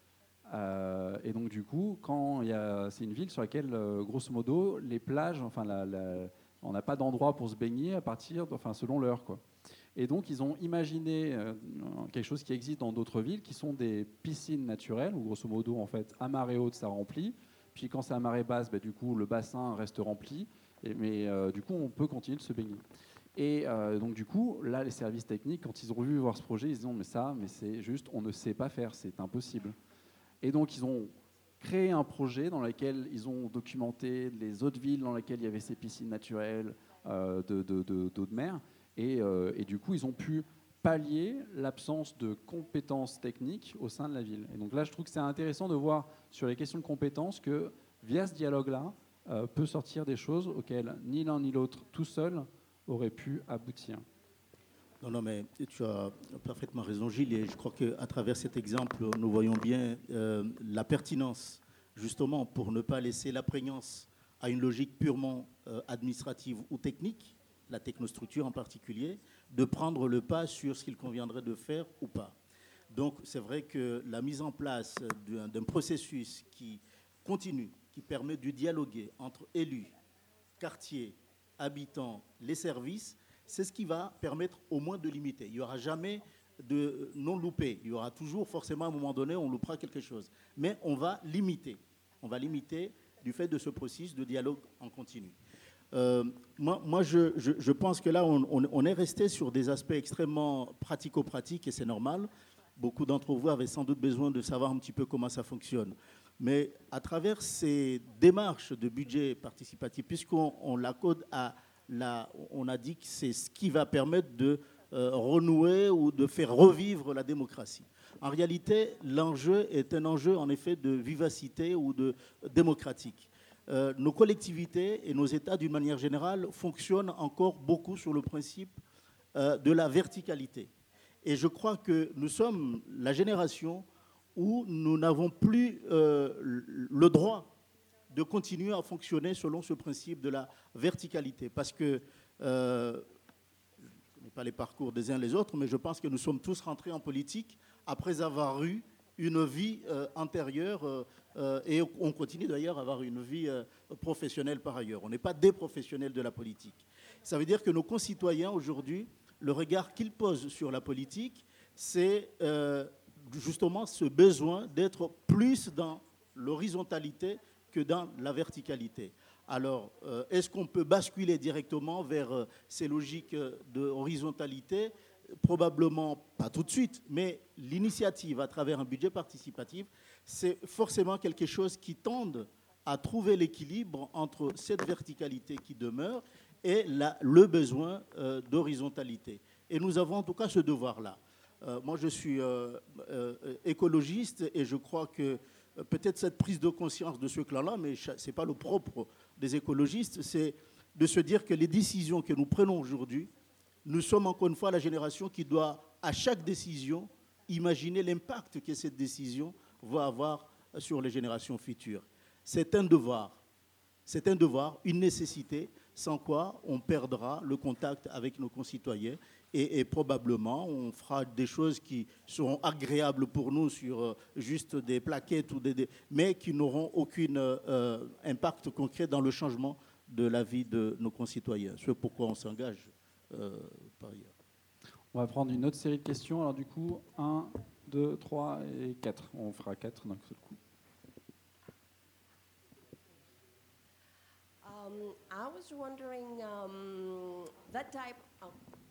et donc du coup, c'est une ville sur laquelle, grosso modo, les plages, on n'a pas d'endroit pour se baigner selon l'heure, quoi. Et donc, ils ont imaginé quelque chose qui existe dans d'autres villes, qui sont des piscines naturelles, où grosso modo, en fait, à marée haute, ça remplit. Puis quand c'est à marée basse, du coup, le bassin reste rempli. Mais du coup, on peut continuer de se baigner. Et donc, du coup, là, les services techniques, quand ils ont vu voir ce projet, ils se disent mais c'est juste, on ne sait pas faire, c'est impossible. Et donc, ils ont créé un projet dans lequel ils ont documenté les autres villes dans lesquelles il y avait ces piscines naturelles d'eau de mer. Et du coup, ils ont pu pallier l'absence de compétences techniques au sein de la ville. Et donc là, je trouve que c'est intéressant de voir sur les questions de compétences que, via ce dialogue-là, peut sortir des choses auxquelles ni l'un ni l'autre, tout seul, aurait pu aboutir. Non, mais tu as parfaitement raison, Gilles, et je crois qu'à travers cet exemple, nous voyons bien la pertinence, justement, pour ne pas laisser la prégnance à une logique purement administrative ou technique, la technostructure en particulier, de prendre le pas sur ce qu'il conviendrait de faire ou pas. Donc, c'est vrai que la mise en place d'un processus qui continue, qui permet de dialoguer entre élus, quartiers, habitants, les services, c'est ce qui va permettre au moins de limiter. Il n'y aura jamais de non-loupé. Il y aura toujours, forcément, à un moment donné, on loupera quelque chose. Mais on va limiter. On va limiter du fait de ce processus de dialogue en continu. Moi, je pense que là, on est resté sur des aspects extrêmement pratico-pratiques et c'est normal. Beaucoup d'entre vous avaient sans doute besoin de savoir un petit peu comment ça fonctionne. Mais à travers ces démarches de budget participatif, puisqu'on l'accorde on a dit que c'est ce qui va permettre de renouer ou de faire revivre la démocratie. En réalité, l'enjeu est un enjeu en effet de vivacité ou de démocratique. Nos collectivités et nos États, d'une manière générale, fonctionnent encore beaucoup sur le principe de la verticalité. Et je crois que nous sommes la génération où nous n'avons plus le droit de continuer à fonctionner selon ce principe de la verticalité. Parce que, je ne connais pas les parcours des uns les autres, mais je pense que nous sommes tous rentrés en politique après avoir eu une vie antérieure et on continue d'ailleurs à avoir une vie professionnelle par ailleurs. On n'est pas des professionnels de la politique. Ça veut dire que nos concitoyens aujourd'hui, le regard qu'ils posent sur la politique, c'est justement ce besoin d'être plus dans l'horizontalité que dans la verticalité. Alors, est-ce qu'on peut basculer directement vers ces logiques de horizontalité ? probablement pas tout de suite, mais l'initiative à travers un budget participatif, c'est forcément quelque chose qui tende à trouver l'équilibre entre cette verticalité qui demeure et le besoin d'horizontalité. Et nous avons en tout cas ce devoir-là. Moi, je suis écologiste et je crois que peut-être cette prise de conscience de ce clan-là, mais ce n'est pas le propre des écologistes, c'est de se dire que les décisions que nous prenons aujourd'hui, nous sommes encore une fois la génération qui doit, à chaque décision, imaginer l'impact que cette décision va avoir sur les générations futures. C'est un devoir, une nécessité, sans quoi on perdra le contact avec nos concitoyens et probablement on fera des choses qui seront agréables pour nous sur juste des plaquettes, mais qui n'auront aucun impact concret dans le changement de la vie de nos concitoyens. C'est pourquoi on s'engage par ailleurs. On va prendre une autre série de questions. Alors du coup, 1, 2, 3 et 4. On fera 4 d'un seul coup. I was wondering that type of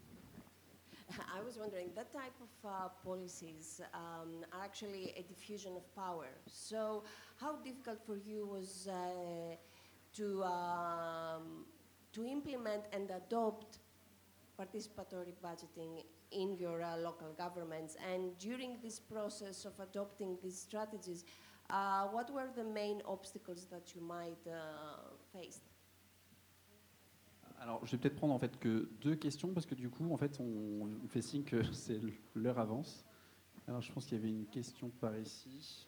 policies are actually a diffusion of power. So, how difficult for you was to implement and adopt participatory budgeting in your local governments? And during this process of adopting these strategies, what were the main obstacles that you might face? Alors, je vais peut-être prendre en fait que 2 questions parce que du coup, en fait, on fait signe que c'est l'heure avance. Alors, je pense qu'il y avait une question par ici.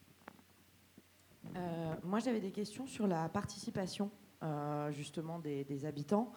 Moi, j'avais des questions sur la participation, justement, des habitants.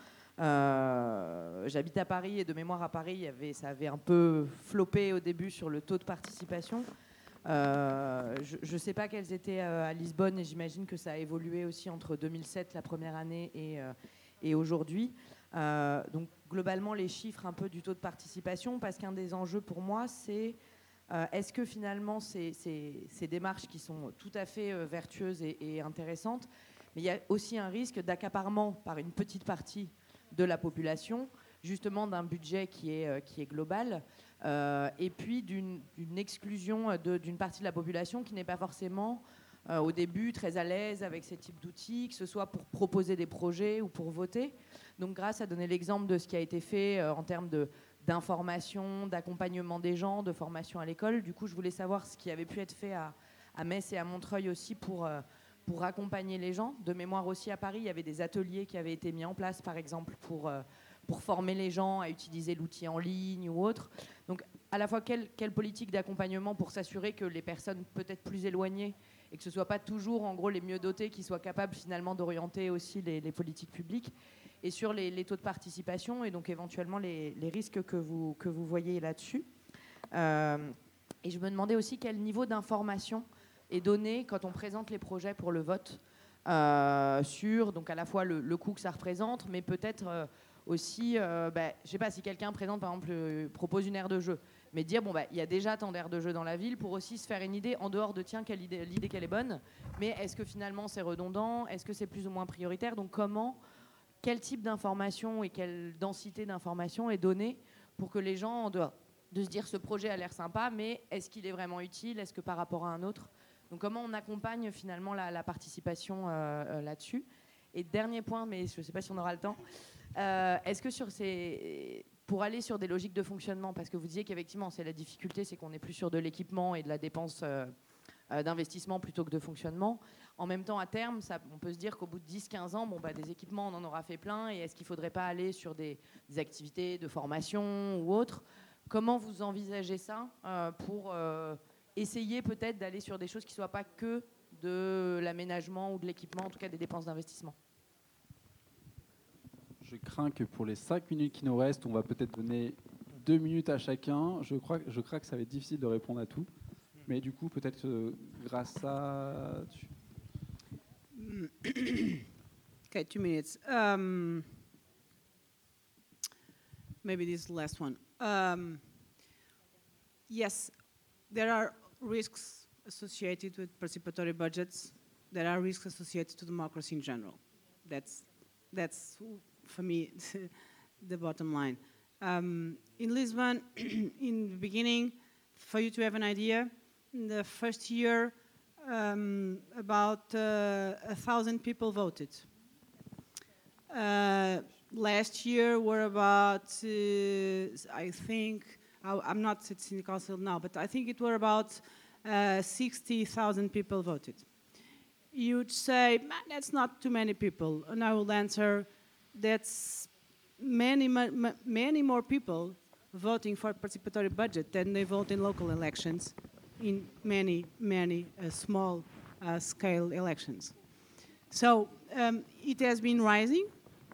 J'habite à Paris et de mémoire à Paris, ça avait un peu floppé au début sur le taux de participation. Je ne sais pas quels étaient à Lisbonne et j'imagine que ça a évolué aussi entre 2007, la première année, et aujourd'hui. Donc globalement, les chiffres un peu du taux de participation, parce qu'un des enjeux pour moi, c'est est-ce que finalement ces démarches qui sont tout à fait vertueuses et intéressantes, mais il y a aussi un risque d'accaparement par une petite partie de la population, justement d'un budget qui est global, et puis d'une exclusion d'une partie de la population qui n'est pas forcément au début très à l'aise avec ces types d'outils, que ce soit pour proposer des projets ou pour voter. Donc Grâce a donné l'exemple de ce qui a été fait en termes d'information, d'accompagnement des gens, de formation à l'école. Du coup, je voulais savoir ce qui avait pu être fait à Metz et à Montreuil aussi pour accompagner les gens. De mémoire aussi à Paris, il y avait des ateliers qui avaient été mis en place, par exemple, pour former les gens à utiliser l'outil en ligne ou autre. Donc, à la fois, quelle politique d'accompagnement pour s'assurer que les personnes peut-être plus éloignées et que ce ne soit pas toujours, en gros, les mieux dotés qui soient capables, finalement, d'orienter aussi les politiques publiques, et sur les taux de participation et donc éventuellement les risques que vous voyez là-dessus. Et je me demandais aussi quel niveau d'information est donné quand on présente les projets pour le vote sur donc à la fois le coût que ça représente, mais peut-être aussi, je ne sais pas, si quelqu'un présente, par exemple, propose une aire de jeu, mais dire, il y a déjà tant d'aires de jeu dans la ville pour aussi se faire une idée en dehors de, tiens, l'idée qu'elle est bonne, mais est-ce que finalement c'est redondant, est-ce que c'est plus ou moins prioritaire, donc quel type d'information et quelle densité d'information est donnée pour que les gens, en dehors de se dire ce projet a l'air sympa, mais est-ce qu'il est vraiment utile, est-ce que par rapport à un autre? Donc comment on accompagne finalement la participation là-dessus? Et dernier point, mais je ne sais pas si on aura le temps, est-ce que pour aller sur des logiques de fonctionnement, parce que vous disiez qu'effectivement c'est la difficulté, c'est qu'on est plus sur de l'équipement et de la dépense d'investissement plutôt que de fonctionnement. En même temps, à terme, on peut se dire qu'au bout de 10-15 ans, des équipements, on en aura fait plein, et est-ce qu'il ne faudrait pas aller sur des activités de formation ou autres? Comment vous envisagez ça pour essayer peut-être d'aller sur des choses qui ne soient pas que de l'aménagement ou de l'équipement, en tout cas des dépenses d'investissement? Je crains que pour les 5 minutes qui nous restent, on va peut-être donner 2 minutes à chacun. Je crains que ça va être difficile de répondre à tout. Mais du coup, peut-être grâce à... Okay, 2 minutes. Maybe this is the last one. Yes, there are risks associated with participatory budgets. There are risks associated to democracy in general. That's for me, the bottom line. In Lisbon, in the beginning, for you to have an idea, in the first year, about 1,000 people voted. Last year were about, I think, I'm not at City Council now, but I think it were about 60,000 people voted. You'd say, that's not too many people. And I will answer, that's many more people voting for participatory budget than they vote in local elections in many small scale elections. So it has been rising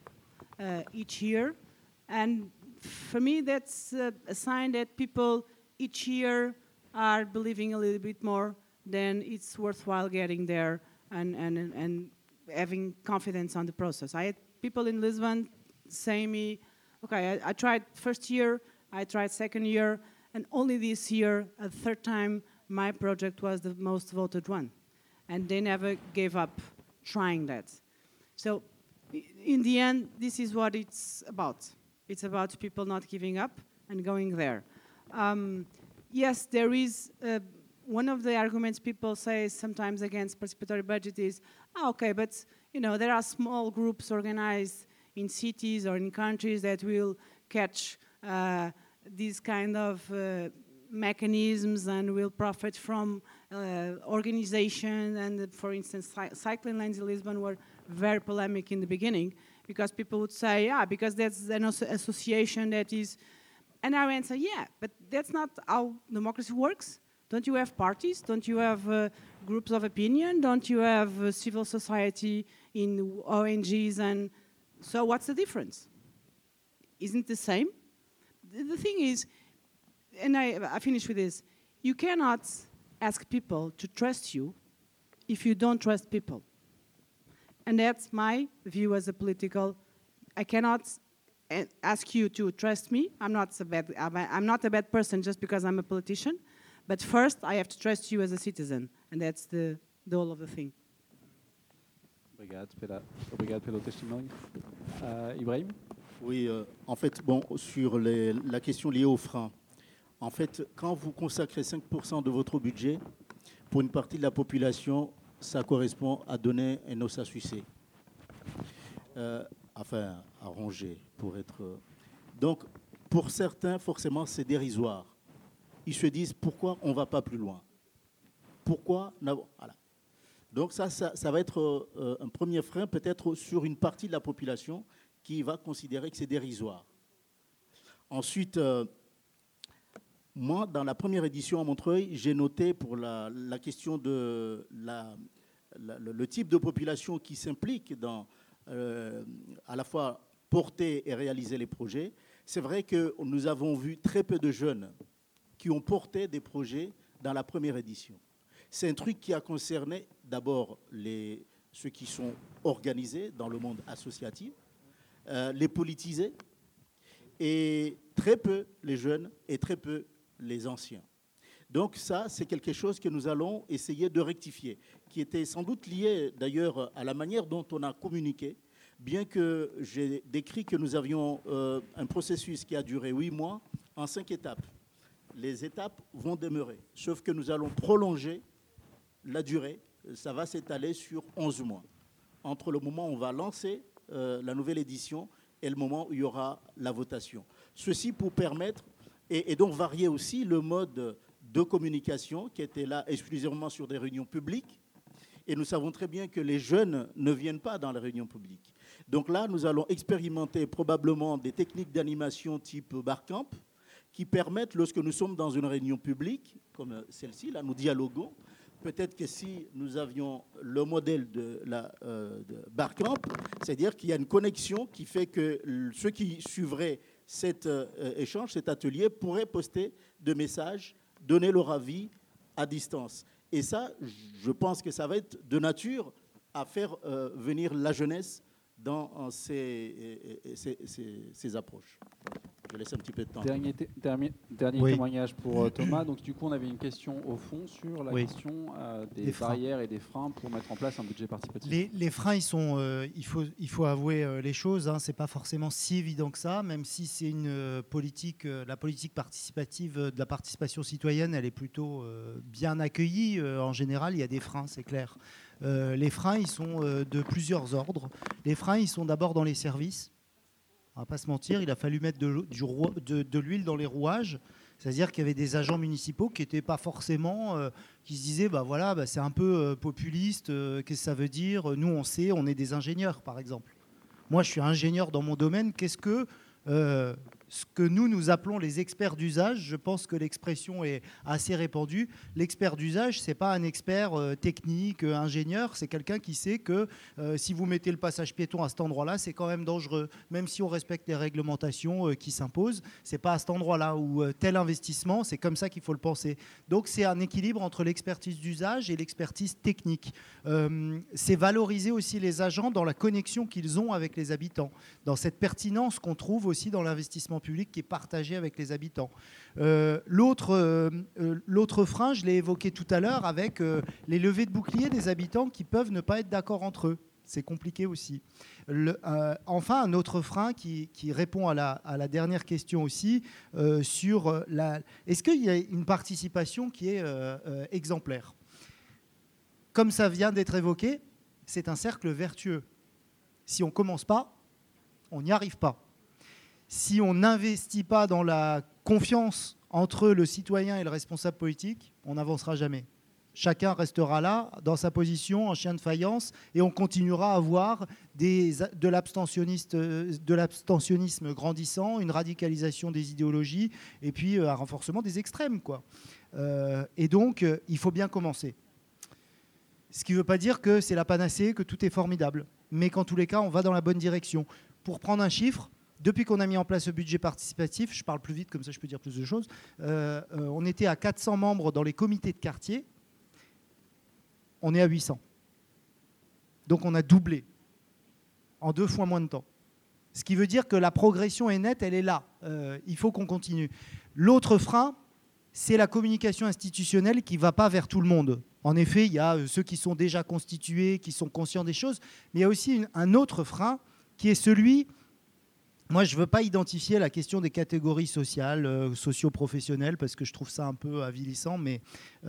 each year, and for me that's a sign that people each year are believing a little bit more, then it's worthwhile getting there and having confidence on the process. I had people in Lisbon say me, okay, I tried first year, I tried second year, and only this year, a third time, my project was the most voted one. And they never gave up trying that. So in the end, this is what it's about. It's about people not giving up and going there. Yes, there is, one of the arguments people say sometimes against participatory budget is, okay, but you know, there are small groups organized in cities or in countries that will catch these kind of mechanisms and will profit from organization. And for instance, cycling lanes in Lisbon were very polemic in the beginning because people would say, yeah, because that's an association that is, and I answer, yeah, but that's not how democracy works. Don't you have parties? Don't you have groups of opinion? Don't you have civil society in ONGs? And so what's the difference? Isn't it the same? The thing is, and I finish with this, you cannot ask people to trust you if you don't trust people. And that's my view as a political, I cannot ask you to trust me. I'm not a bad person just because I'm a politician. But first, I have to trust you as a citizen. And that's the whole of the thing. Obrigado pelo testemunho. Ibrahim? Oui, en fait, bon, sur la question liée aux freins, en fait, quand vous consacrez 5% de votre budget, pour une partie de la population, ça correspond à donner un os à sucer. Enfin, à ronger, pour être... Donc, pour certains, forcément, c'est dérisoire. Ils se disent, pourquoi on ne va pas plus loin? Pourquoi... Voilà. Donc ça va être un premier frein, peut-être sur une partie de la population qui va considérer que c'est dérisoire. Ensuite, moi, dans la première édition à Montreuil, j'ai noté pour la question de le type de population qui s'implique dans à la fois porter et réaliser les projets. C'est vrai que nous avons vu très peu de jeunes qui ont porté des projets dans la première édition. C'est un truc qui a concerné d'abord ceux qui sont organisés dans le monde associatif, les politisés, et très peu les jeunes et très peu les anciens. Donc ça, c'est quelque chose que nous allons essayer de rectifier, qui était sans doute lié d'ailleurs à la manière dont on a communiqué, bien que j'ai décrit que nous avions un processus qui a duré 8 mois en 5 étapes. Les étapes vont demeurer, sauf que nous allons prolonger la durée. Ça va s'étaler sur 11 mois, entre le moment où on va lancer la nouvelle édition et le moment où il y aura la votation. Ceci pour permettre, et donc varier aussi le mode de communication qui était là exclusivement sur des réunions publiques. Et nous savons très bien que les jeunes ne viennent pas dans les réunions publiques. Donc là, nous allons expérimenter probablement des techniques d'animation type Barcamp qui permettent, lorsque nous sommes dans une réunion publique, comme celle-ci, là, nous dialoguons. Peut-être que si nous avions le modèle de Barcamp, c'est-à-dire qu'il y a une connexion qui fait que ceux qui suivraient cet échange, cet atelier, pourraient poster des messages, donner leur avis à distance. Et ça, je pense que ça va être de nature à faire venir la jeunesse dans ces approches. Je laisse un petit peu de temps. Dernier Oui. témoignage pour Thomas. Donc, du coup, on avait une question au fond sur la Oui. question des Des freins. barrières et des freins pour mettre en place un budget participatif. Les freins, il faut avouer les choses, hein, c'est pas forcément si évident que ça, même si c'est une politique, la politique participative de la participation citoyenne, elle est plutôt bien accueillie. En général, il y a des freins, c'est clair. Les freins, ils sont de plusieurs ordres. Les freins, ils sont d'abord dans les services. On va pas se mentir, il a fallu mettre de l'huile dans les rouages. C'est-à-dire qu'il y avait des agents municipaux qui n'étaient pas forcément, qui se disaient, bah voilà, bah c'est un peu populiste, qu'est-ce que ça veut dire? Nous, on sait, on est des ingénieurs, par exemple. Moi, je suis ingénieur dans mon domaine. Qu'est-ce que ce que nous appelons les experts d'usage, je pense que l'expression est assez répandue. L'expert d'usage, ce n'est pas un expert technique, ingénieur, c'est quelqu'un qui sait que si vous mettez le passage piéton à cet endroit-là, c'est quand même dangereux. Même si on respecte les réglementations qui s'imposent, ce n'est pas à cet endroit-là où tel investissement, c'est comme ça qu'il faut le penser. Donc c'est un équilibre entre l'expertise d'usage et l'expertise technique. C'est valoriser aussi les agents dans la connexion qu'ils ont avec les habitants, dans cette pertinence qu'on trouve aussi dans l'investissement public qui est partagé avec les habitants. L'autre frein, je l'ai évoqué tout à l'heure, avec les levées de bouclier des habitants qui peuvent ne pas être d'accord entre eux. C'est compliqué aussi. Enfin, un autre frein qui répond à la dernière question aussi, sur est-ce qu'il y a une participation qui est exemplaire? Comme ça vient d'être évoqué, c'est un cercle vertueux. Si on ne commence pas, on n'y arrive pas. Si on n'investit pas dans la confiance entre le citoyen et le responsable politique, on n'avancera jamais. Chacun restera là, dans sa position, en chien de faïence, et on continuera à avoir de l'abstentionnisme grandissant, une radicalisation des idéologies, et puis un renforcement des extrêmes, quoi. Et donc, il faut bien commencer. Ce qui ne veut pas dire que c'est la panacée, que tout est formidable, mais qu'en tous les cas, on va dans la bonne direction. Pour prendre un chiffre, depuis qu'on a mis en place ce budget participatif, je parle plus vite, comme ça je peux dire plus de choses, on était à 400 membres dans les comités de quartier, on est à 800. Donc on a doublé en 2 fois moins de temps. Ce qui veut dire que la progression est nette, elle est là. Il faut qu'on continue. L'autre frein, c'est la communication institutionnelle qui ne va pas vers tout le monde. En effet, il y a ceux qui sont déjà constitués, qui sont conscients des choses, mais il y a aussi un autre frein qui est celui... Moi, je ne veux pas identifier la question des catégories sociales, socio-professionnelles, parce que je trouve ça un peu avilissant, mais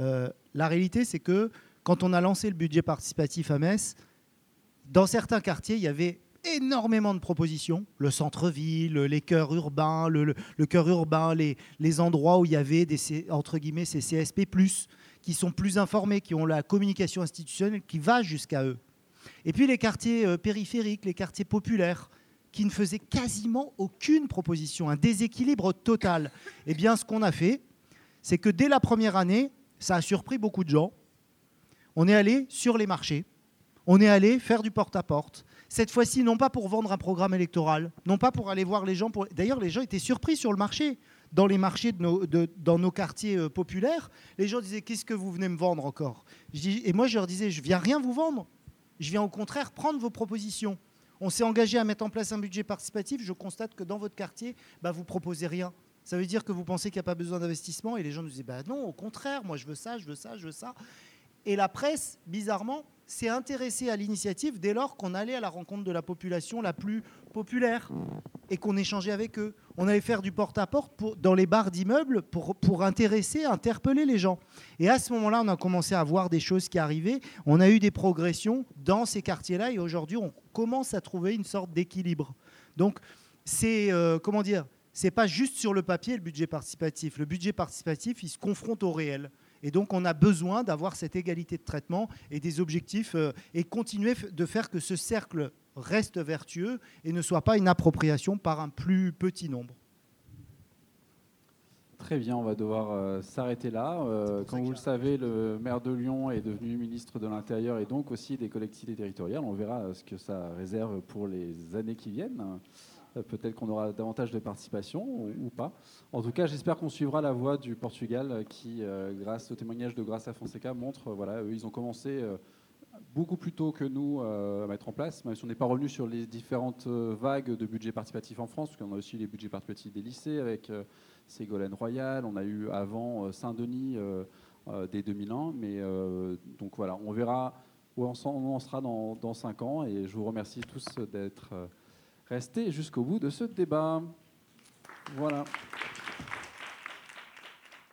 la réalité, c'est que quand on a lancé le budget participatif à Metz, dans certains quartiers, il y avait énormément de propositions. Le centre-ville, les cœurs urbains, le cœur urbain, les endroits où il y avait entre guillemets, ces CSP+, qui sont plus informés, qui ont la communication institutionnelle qui va jusqu'à eux. Et puis les quartiers périphériques, les quartiers populaires, qui ne faisaient quasiment aucune proposition, un déséquilibre total. Eh bien, ce qu'on a fait, c'est que dès la première année, ça a surpris beaucoup de gens. On est allé sur les marchés, on est allé faire du porte-à-porte. Cette fois-ci, non pas pour vendre un programme électoral, non pas pour aller voir les gens. D'ailleurs, les gens étaient surpris sur le marché. Dans les marchés dans nos quartiers populaires, les gens disaient « Qu'est-ce que vous venez me vendre encore ?» Et moi, je leur disais « Je ne viens rien vous vendre. Je viens au contraire prendre vos propositions. » On s'est engagé à mettre en place un budget participatif. Je constate que dans votre quartier, vous ne proposez rien. Ça veut dire que vous pensez qu'il n'y a pas besoin d'investissement. Et les gens nous disaient non, au contraire, moi je veux ça, je veux ça, je veux ça. Et la presse, bizarrement, s'est intéressée à l'initiative dès lors qu'on allait à la rencontre de la population la plus populaire et qu'on échangeait avec eux. On allait faire du porte-à-porte dans les bars d'immeubles pour intéresser, interpeller les gens. Et à ce moment-là, on a commencé à voir des choses qui arrivaient. On a eu des progressions dans ces quartiers-là et aujourd'hui, on commence à trouver une sorte d'équilibre. Donc, c'est, c'est pas juste sur le papier le budget participatif. Le budget participatif, il se confronte au réel. Et donc, on a besoin d'avoir cette égalité de traitement et des objectifs et continuer de faire que ce cercle reste vertueux et ne soit pas une appropriation par un plus petit nombre. Très bien, on va devoir s'arrêter là. Comme vous le savez, le maire de Lyon est devenu ministre de l'Intérieur et donc aussi des collectivités territoriales. On verra ce que ça réserve pour les années qui viennent. Peut-être qu'on aura davantage de participation ou pas. En tout cas, j'espère qu'on suivra la voie du Portugal qui, grâce au témoignage de Graça Fonseca, montre, eux, ils ont commencé beaucoup plus tôt que nous à mettre en place, même si on n'est pas revenu sur les différentes vagues de budget participatif en France, parce qu'on a aussi les budgets participatifs des lycées avec Ségolène Royal, on a eu avant Saint-Denis dès 2001, mais donc voilà, on verra où on en sera dans 5 ans, et je vous remercie tous d'être restés jusqu'au bout de ce débat. Voilà.